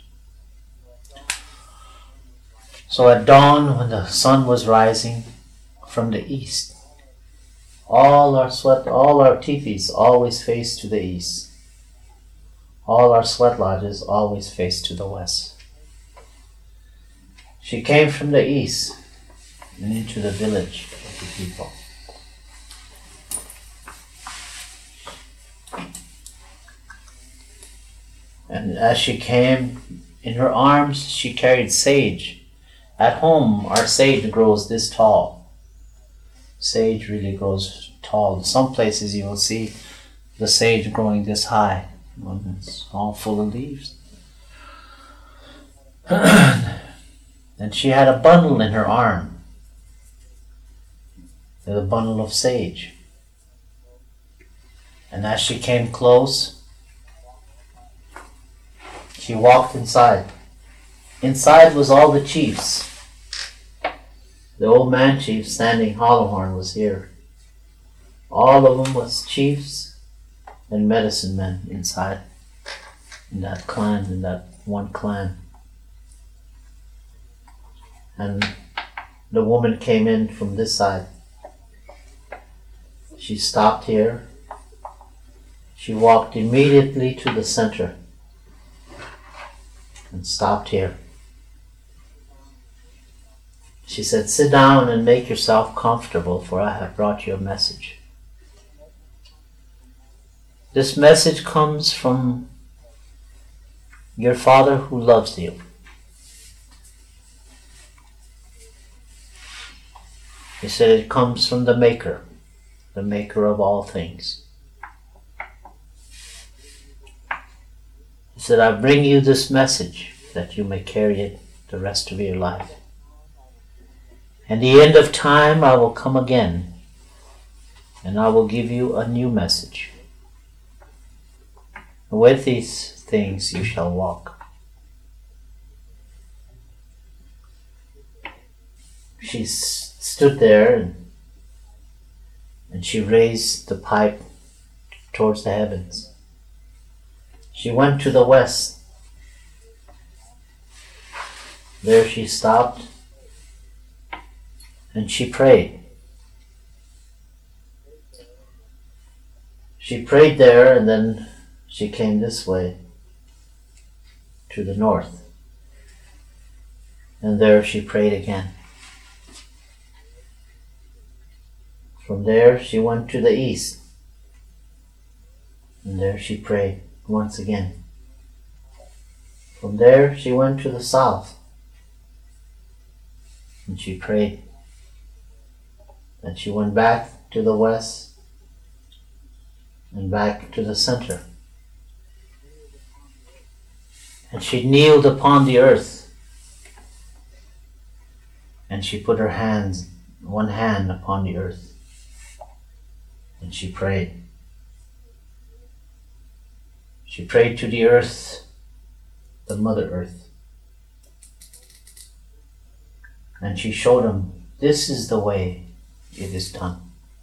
So at dawn, when the sun was rising from the east, all our sweat, all our teepees always faced to the east. All our sweat lodges always faced to the west. She came from the east and into the village of the people. And as she came, in her arms she carried sage. At home, our sage grows this tall. Sage really grows tall. In some places you will see the sage growing this high. It's all full of leaves. And she had a bundle in her arm. A bundle of sage. And as she came close, she walked inside. Inside was all the chiefs. The old man chief standing Hollowhorn was here. All of them was chiefs and medicine men inside, in that clan, in that one clan. And the woman came in from this side. She stopped here. She walked immediately to the center and stopped here. She said, "Sit down and make yourself comfortable, for I have brought you a message." This message comes from your Father who loves you. He said it comes from the Maker, the Maker of all things. He said, "I bring you this message that you may carry it the rest of your life. At the end of time I will come again, and I will give you a new message. With these things you shall walk." She s- stood there and, and she raised the pipe towards the heavens. She went to the west. There she stopped and she prayed. She prayed there, and then she came this way to the north. And there she prayed again. From there she went to the east. And there she prayed once again. From there she went to the south. And she prayed. And she went back to the west and back to the center. And she kneeled upon the earth. And she put her hands, one hand upon the earth. And she prayed. She prayed to the earth, the Mother Earth. And she showed him, this is the way it is done.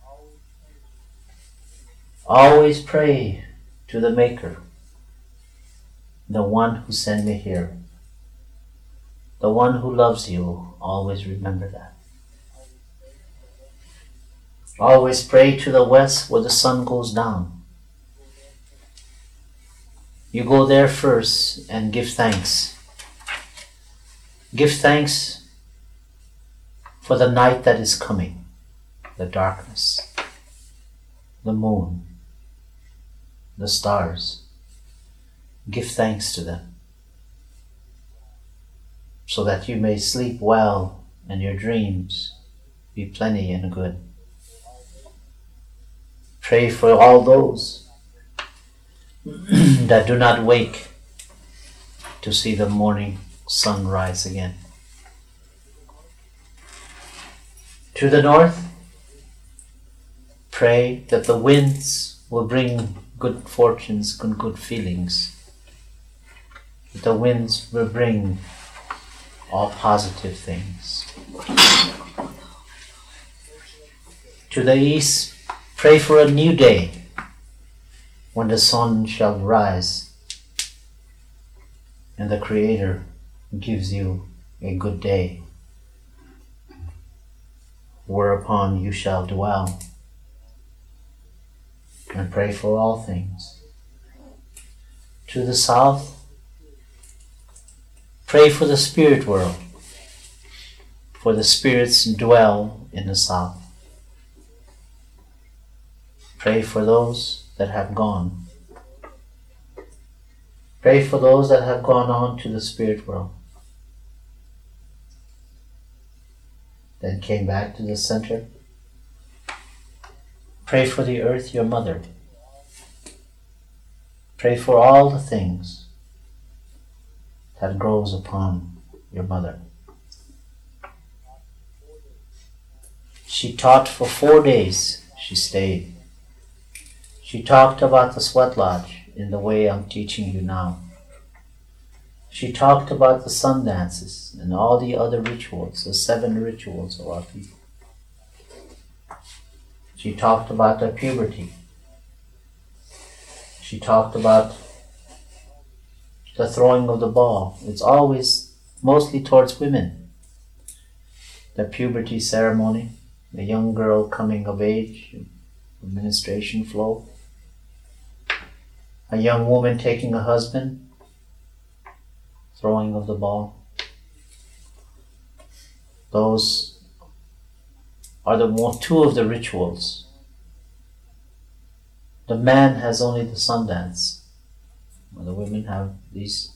Always pray to the Maker, the one who sent me here, the one who loves you. Always remember that. Always pray to the west where the sun goes down. You go there first and give thanks. Give thanks for the night that is coming, the darkness, the moon, the stars. Give thanks to them so that you may sleep well and your dreams be plenty and good. Pray for all those that do not wake to see the morning sun rise again. To the north, pray that the winds will bring good fortunes and good feelings. That the winds will bring all positive things. To the east, pray for a new day when the sun shall rise and the Creator gives you a good day whereupon you shall dwell, and pray for all things. To the south, pray for the spirit world, for the spirits dwell in the south. Pray for those that have gone. Pray for those that have gone on to the spirit world. Then came back to the center. Pray for the earth, your mother. Pray for all the things that grows upon your mother. She taught for four days. She stayed. She talked about the sweat lodge in the way I'm teaching you now. She talked about the sun dances and all the other rituals, the seven rituals of our people. She talked about the puberty. she talked about the throwing of the ball. It's always mostly towards women. The puberty ceremony, the young girl coming of age, menstruation flow, a young woman taking a husband, throwing of the ball. Those are the more, two of the rituals. The man has only the sun dance. The women have these.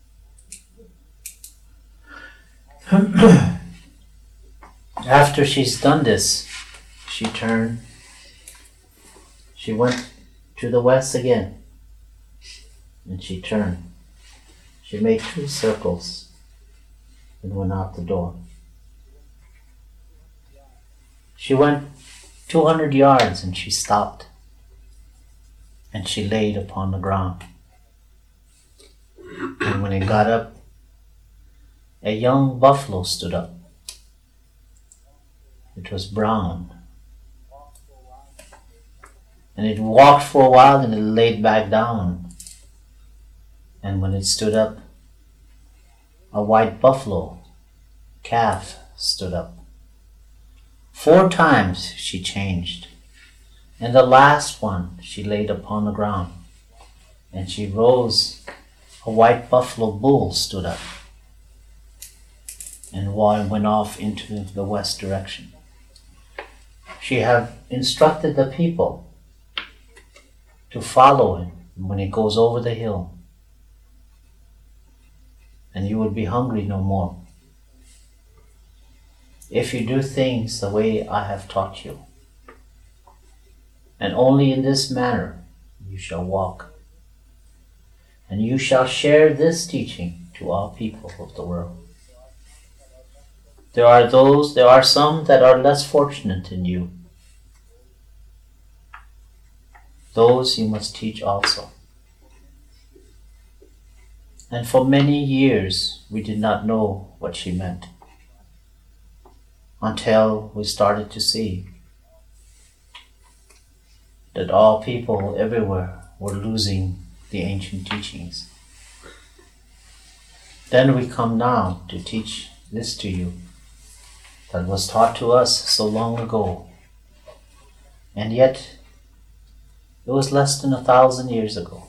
After she's done this, she turned. She went to the west again. And she turned. She made two circles and went out the door. She went two hundred yards and she stopped. And she laid upon the ground. And when it got up, a young buffalo stood up. It was brown. And it walked for a while and it laid back down. And when it stood up, a white buffalo calf stood up. Four times she changed. And the last one she laid upon the ground. And she rose. A white buffalo bull stood up and went off into the west direction. She had instructed the people to follow him when he goes over the hill, and you would be hungry no more if you do things the way I have taught you. And only in this manner you shall walk. And you shall share this teaching to all people of the world. There are those, there are some that are less fortunate than you. Those you must teach also. And for many years we did not know what she meant, until we started to see that all people everywhere were losing the ancient teachings. Then we come now to teach this to you that was taught to us so long ago, and yet it was less than a thousand years ago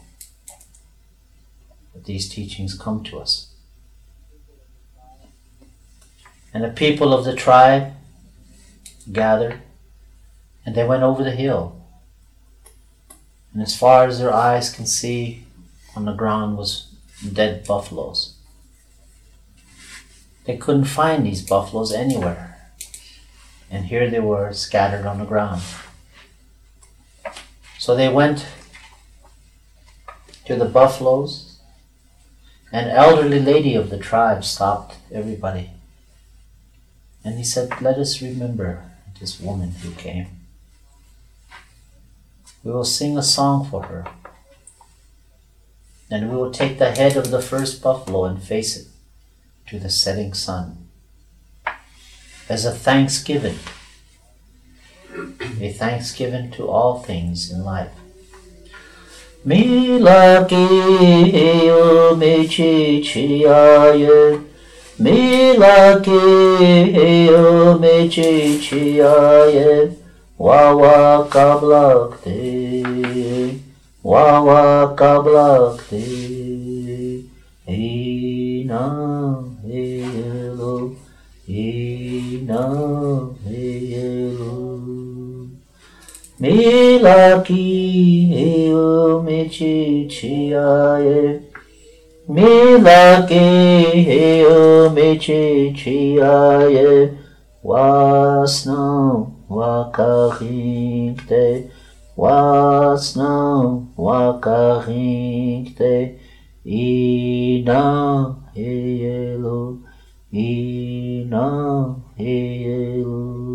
that these teachings come to us. And the people of the tribe gathered and they went over the hill. And as far as their eyes can see, on the ground was dead buffaloes. They couldn't find these buffaloes anywhere. And here they were scattered on the ground. So they went to the buffaloes. An elderly lady of the tribe stopped everybody. And he said, "Let us remember this woman who came. We will sing a song for her. And we will take the head of the first buffalo and face it to the setting sun as a thanksgiving, a thanksgiving to all things in life." Milaki o mechi chiaye, Milaki o mechi chiaye, Wawa kablakte, Wawa kablakte, Ina helo, Ina helo. Milaki o mechi chiaye, Milaki o mechi chiaye, Wasno wakahinte, Wasno wakahinte, Ina helo, Ina helo.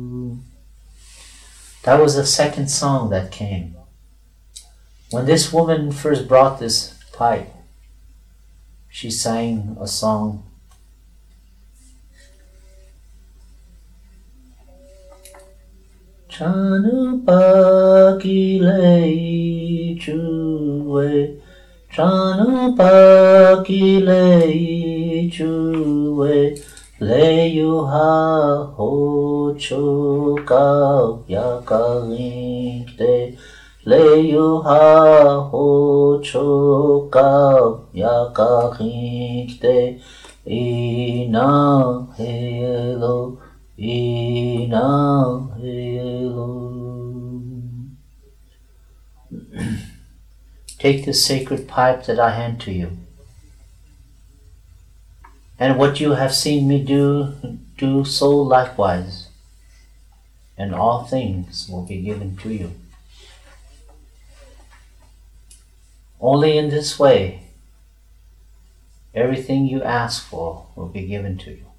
That was the second song that came. When this woman first brought this pipe, she sang a song. Chanu pakilei chuwe Chanu paki lei chuwe le yu ha ho chu ka ya ka te le yu ha ho chu ka ya ka te ina helo ina helo. Take the sacred pipe that I hand to you, and what you have seen me do, do so likewise, and all things will be given to you. Only in this way, everything you ask for will be given to you.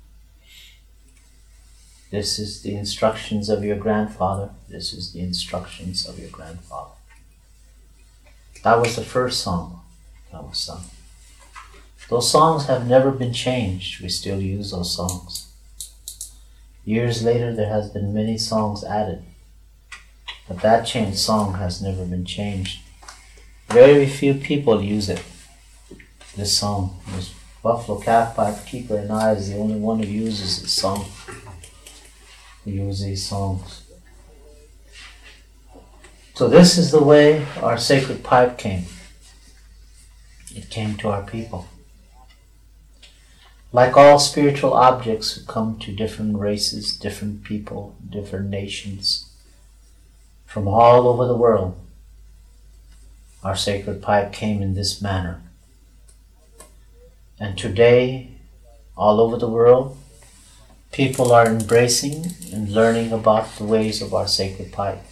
This is the instructions of your grandfather. This is the instructions of your grandfather. That was the first song that was sung. Those songs have never been changed. We still use those songs. Years later, there has been many songs added, but that changed song has never been changed. Very few people use it. This song, this Buffalo Calf Pipe Keeper and I is the only one who uses this song. We use these songs. So this is the way our sacred pipe came. It came to our people. Like all spiritual objects who come to different races, different people, different nations, from all over the world, our sacred pipe came in this manner. And today, all over the world, people are embracing and learning about the ways of our sacred pipe.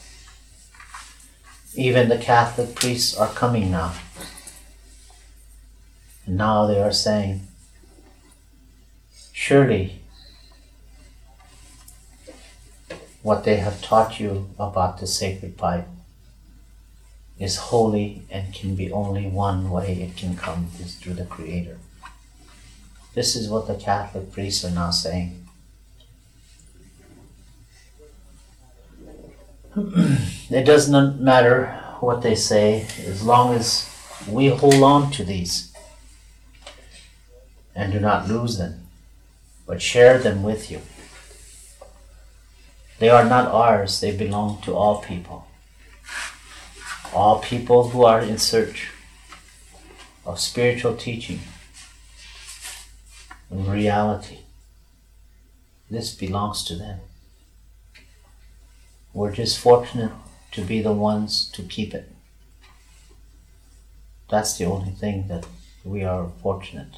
Even the Catholic priests are coming now. And now they are saying, surely what they have taught you about the sacred pipe is holy and can be only one way it can come is through the Creator. This is what the Catholic priests are now saying. It does not matter what they say as long as we hold on to these and do not lose them, but share them with you. They are not ours, they belong to all people. All people who are in search of spiritual teaching and reality. This belongs to them. We're just fortunate to be the ones to keep it. That's the only thing that we are fortunate.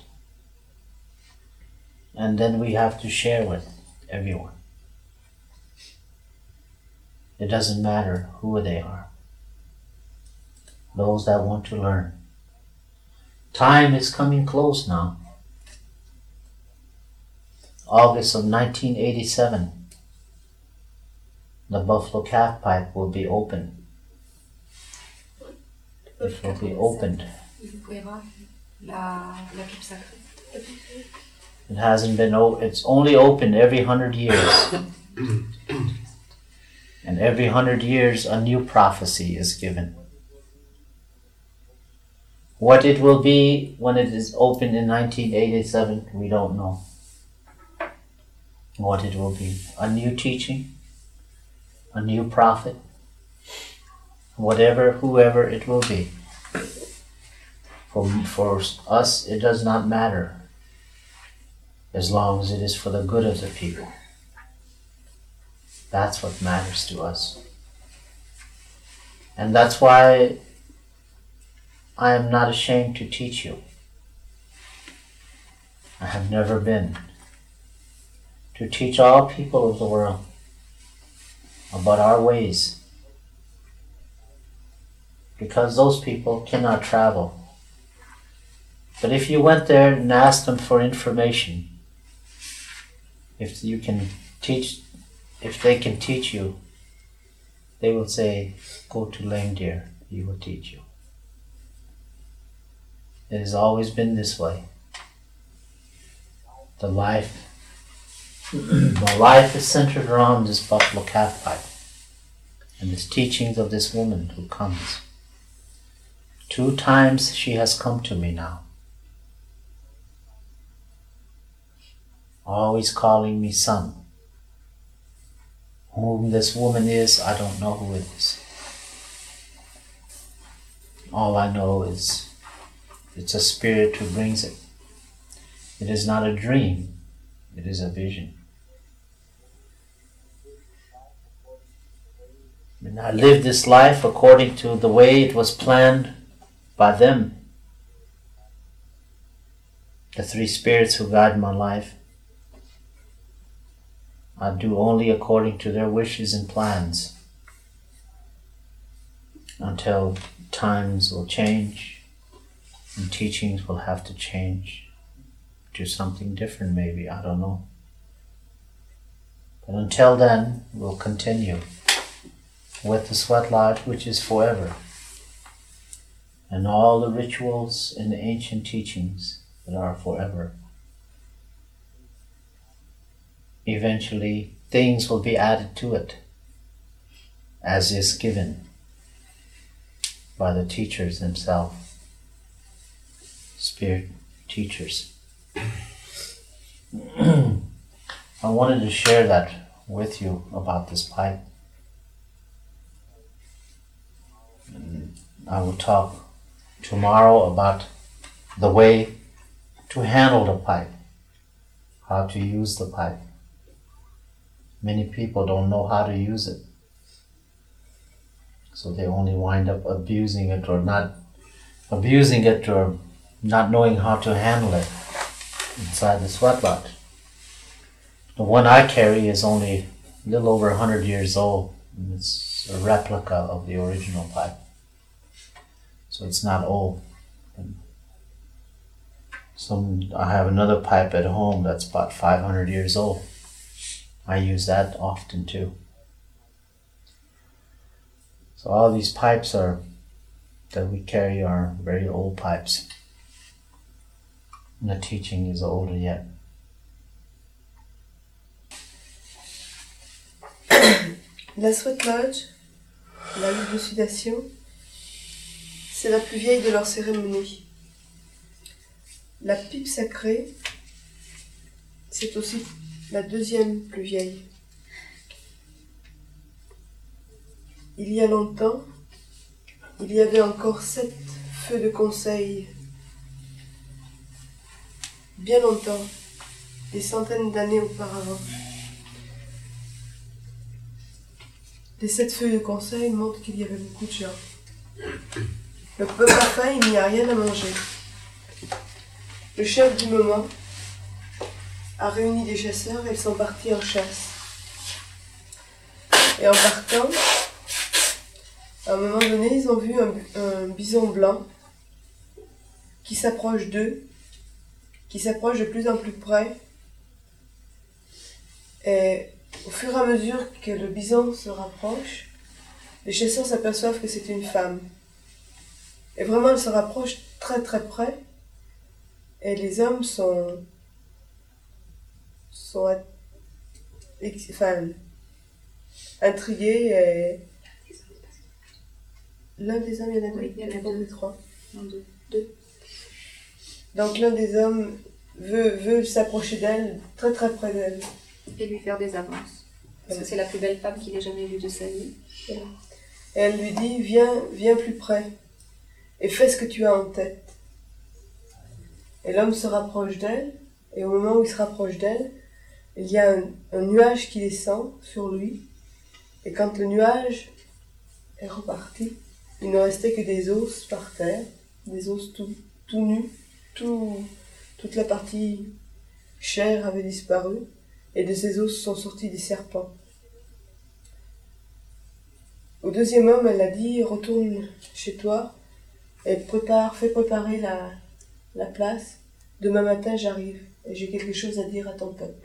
And then we have to share with everyone. It doesn't matter who they are. Those that want to learn. Time is coming close now. August of nineteen eighty-seven. The Buffalo Calf Pipe will be open. It will be opened. It hasn't been, o- it's only open every hundred years. And every hundred years a new prophecy is given. What it will be when it is open in nineteen eighty-seven, we don't know. What it will be. A new teaching, a new prophet, whatever, whoever it will be. For, for us, it does not matter as long as it is for the good of the people. That's what matters to us. And that's why I am not ashamed to teach you. I have never been. To teach all people of the world about our ways. Because those people cannot travel. But if you went there and asked them for information, if you can teach, if they can teach you, they will say, go to Lame Deer, he will teach you. It has always been this way. The life, my life is centered around this Buffalo Calf Pipe and this teachings of this woman who comes. Two times she has come to me now. Always calling me son. Whom this woman is, I don't know who it is. All I know is it's a spirit who brings it. It is not a dream, it is a vision. And I live this life according to the way it was planned by them. The three spirits who guide my life. I do only according to their wishes and plans until times will change and teachings will have to change to something different maybe, I don't know. But until then, we'll continue with the sweat lodge, which is forever, and all the rituals and the ancient teachings that are forever. Eventually, things will be added to it, as is given by the teachers themselves, spirit teachers. I wanted to share that with you about this pipe. And I will talk tomorrow about the way to handle the pipe, how to use the pipe. Many people don't know how to use it, so they only wind up abusing it or not abusing it or not knowing how to handle it inside the sweat lodge. The one I carry is only a little over one hundred years old, and it's a replica of the original pipe, so it's not old. And some I have another pipe at home that's about five hundred years old. I use that often too. So all these pipes are that we carry are very old pipes. And the teaching is older yet. La Sweat Lodge, la lutte de sudation, c'est la plus vieille de leurs cérémonies. La pipe sacrée, c'est aussi la deuxième plus vieille. Il y a longtemps, il y avait encore sept feux de conseil. Bien longtemps, des centaines d'années auparavant. Les sept feux de conseil montrent qu'il y avait beaucoup de gens. Le peuple a faim, il n'y a rien à manger. Le chef du moment a réuni des chasseurs et ils sont partis en chasse. Et en partant, à un moment donné, ils ont vu un, un bison blanc qui s'approche d'eux, qui s'approche de plus en plus près. Et au fur et à mesure que le bison se rapproche, les chasseurs s'aperçoivent que c'est une femme. Et vraiment, elle se rapproche très très près. Et les hommes sont... sont enfin, intrigués et... L'un des hommes, il y en a deux, oui, il y en a deux, deux. trois. Non, deux. deux. Donc l'un des hommes veut, veut s'approcher d'elle, très très près d'elle. Et lui faire des avances. Parce que c'est la plus belle femme qu'il ait jamais vue de sa vie. Et elle lui dit, viens, viens plus près et fais ce que tu as en tête. Et l'homme se rapproche d'elle, et au moment où il se rapproche d'elle, il y a un, un nuage qui descend sur lui. Et quand le nuage est reparti, il ne restait que des os par terre, des os tout, tout nus, tout, toute la partie chair avait disparu, et de ces os sont sortis des serpents. Au deuxième homme, elle a dit, retourne chez toi, et prépare, fais préparer la, la place. Demain matin, j'arrive, et j'ai quelque chose à dire à ton peuple.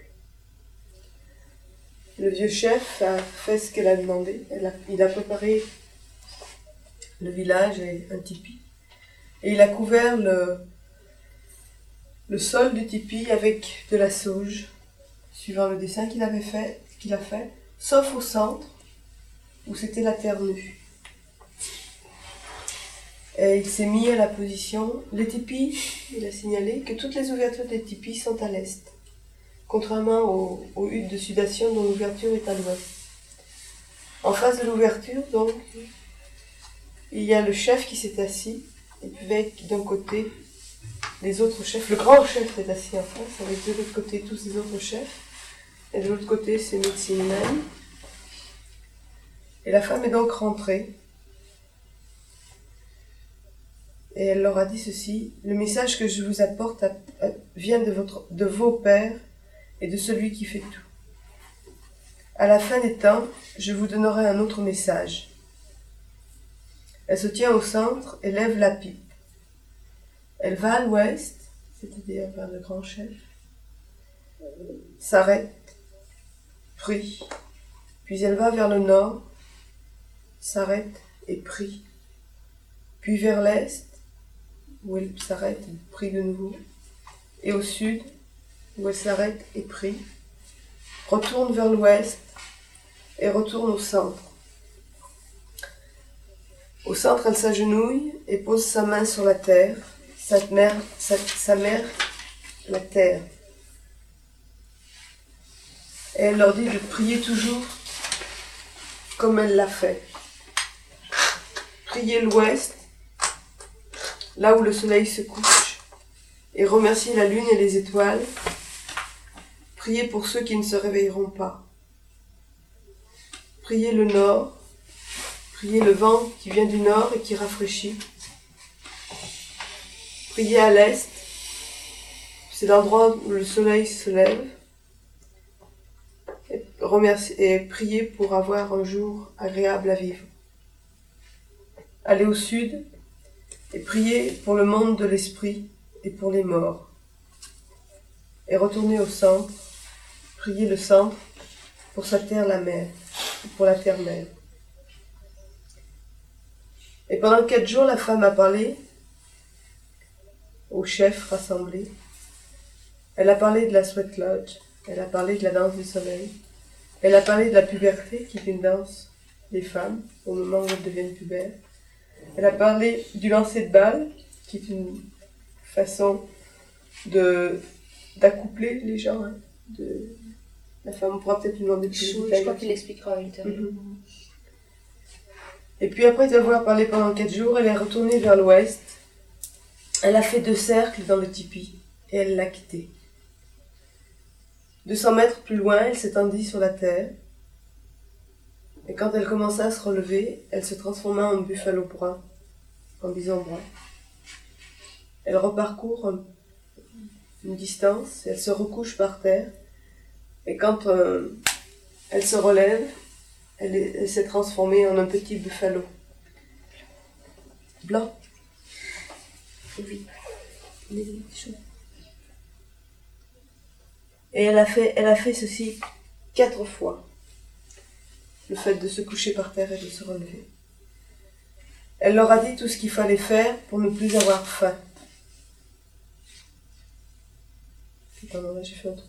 Le vieux chef a fait ce qu'elle a demandé. Elle a, il a préparé le village et un tipi. Et il a couvert le, le sol du tipi avec de la sauge, suivant le dessin qu'il avait fait, qu'il a fait, sauf au centre, où c'était la terre nue. Et Et il s'est mis à la position. Les tipis, il a signalé que toutes les ouvertures des tipis sont à l'est, contrairement aux, aux huttes de sudation dont l'ouverture est à l'ouest. En face de l'ouverture, donc, il y a le chef qui s'est assis, et puis avec d'un côté les autres chefs. Le grand chef est assis en face, avec de l'autre côté tous les autres chefs, et de l'autre côté ses médecines même. Et la femme est donc rentrée, et elle leur a dit ceci: le message que je vous apporte a, a, vient de, votre, de vos pères et de celui qui fait tout. À la fin des temps, je vous donnerai un autre message. Elle se tient au centre et lève la pipe. Elle va à l'ouest, c'est-à-dire vers le grand chef, s'arrête, prie, puis elle va vers le nord, s'arrête et prie, puis vers l'est, où elle s'arrête et prie de nouveau, et au sud, où elle s'arrête et prie, retourne vers l'ouest et retourne au centre. Au centre, elle s'agenouille et pose sa main sur la terre, sa mère, sa, sa mère, la terre. Et elle leur dit de prier toujours comme elle l'a fait. Prier l'ouest, là où le soleil se couche, et remercier la lune et les étoiles. Prier pour ceux qui ne se réveilleront pas. Prier le nord, prier le vent qui vient du nord et qui rafraîchit. Prier à l'est, c'est l'endroit où le soleil se lève. Et, remercier, et prier pour avoir un jour agréable à vivre. Aller au sud et prier pour le monde de l'esprit et pour les morts. Et retourner au centre, prier le centre pour sa terre la mer, pour la terre-mère. Et pendant quatre jours, la femme a parlé aux chefs rassemblés. Elle a parlé de la Sweat Lodge, elle a parlé de la danse du soleil, elle a parlé de la puberté, qui est une danse des femmes, au moment où elles deviennent pubères. Elle a parlé du lancer de balle, qui est une façon de, d'accoupler les gens. Hein, de, la femme, on pourra peut-être lui demander plus de détails. Je crois qu'il expliquera ultérieurement. Mm-hmm. Et puis après avoir parlé pendant quatre jours, elle est retournée vers l'ouest. Elle a fait deux cercles dans le tipi et elle l'a quitté. deux cents mètres plus loin, elle s'étendit sur la terre. Et quand elle commença à se relever, elle se transforma en buffalo brun, en bison brun. Elle reparcourt un, une distance, elle se recouche par terre. Et quand euh, elle se relève, elle, est, elle s'est transformée en un petit buffalo blanc. Oui. Et elle a fait, elle a fait ceci quatre fois. Le fait de se coucher par terre et de se relever. Elle leur a dit tout ce qu'il fallait faire pour ne plus avoir faim. Attends, là j'ai fait un trou.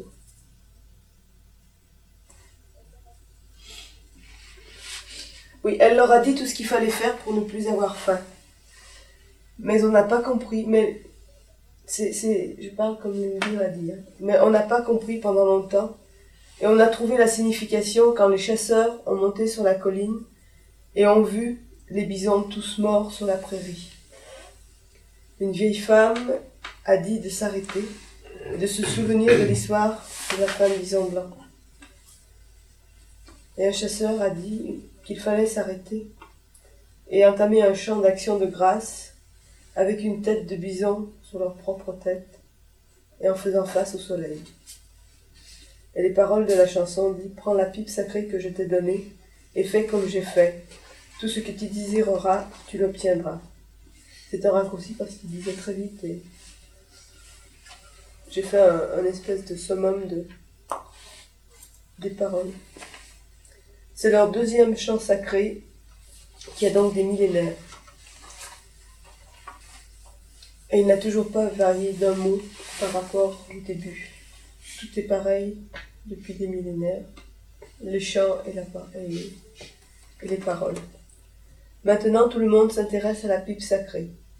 Oui, elle leur a dit tout ce qu'il fallait faire pour ne plus avoir faim. Mais on n'a pas compris, mais c'est, c'est, je parle comme le livre a dit, hein. Mais on n'a pas compris pendant longtemps. Et on a trouvé la signification quand les chasseurs ont monté sur la colline et ont vu les bisons tous morts sur la prairie. Une vieille femme a dit de s'arrêter et de se souvenir de l'histoire de la femme bison blanc. Et un chasseur a dit qu'il fallait s'arrêter et entamer un chant d'action de grâce avec une tête de bison sur leur propre tête et en faisant face au soleil. Et les paroles de la chanson disent « Prends la pipe sacrée que je t'ai donnée et fais comme j'ai fait. Tout ce que tu désireras, tu l'obtiendras. » C'est un raccourci parce qu'il disait très vite et j'ai fait un, un espèce de summum de, des paroles. C'est leur deuxième chant sacré qui a donc des millénaires. Et il n'a toujours pas varié d'un mot par rapport au début. Tout est pareil depuis des millénaires, les chants et, la, et, et les paroles. Maintenant, tout le monde s'intéresse à la pipe sacrée.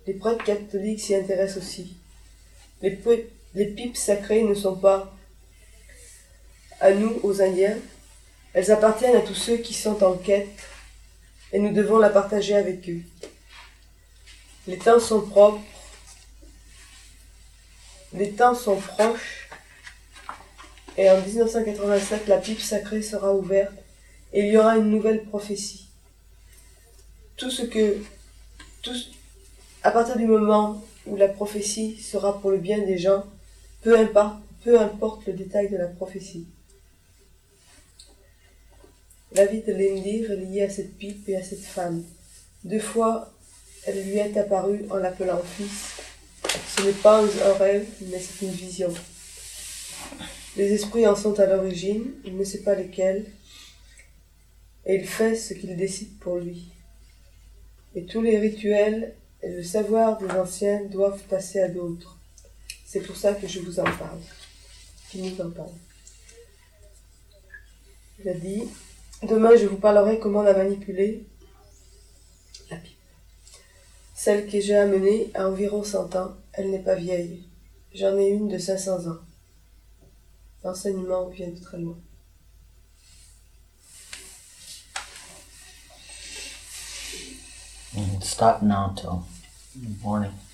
Les prêtres catholiques s'y intéressent aussi. Les, pe- les pipes sacrées ne sont pas à nous, aux Indiens. Elles appartiennent à tous ceux qui sont en quête et nous devons la partager avec eux. Les temps sont propres. Les temps sont proches. Et en dix-neuf cent quatre-vingt-sept, la pipe sacrée sera ouverte et il y aura une nouvelle prophétie. Tout ce que... Tout, à partir du moment où la prophétie sera pour le bien des gens, peu importe, peu importe le détail de la prophétie. La vie de l'Indir est liée à cette pipe et à cette femme. Deux fois, elle lui est apparue en l'appelant fils. Ce n'est pas un rêve, mais c'est une vision. Les esprits en sont à l'origine, il ne sait pas lesquels, et il fait ce qu'il décide pour lui. Et tous les rituels et le savoir des anciens doivent passer à d'autres. C'est pour ça que je vous en parle. Qui nous en parle. Il a dit, demain je vous parlerai comment la manipuler, la pipe. Celle que j'ai amenée a environ cent ans, elle n'est pas vieille. J'en ai une de cinq cents ans. L'enseignement vient de très loin. And stop now till morning.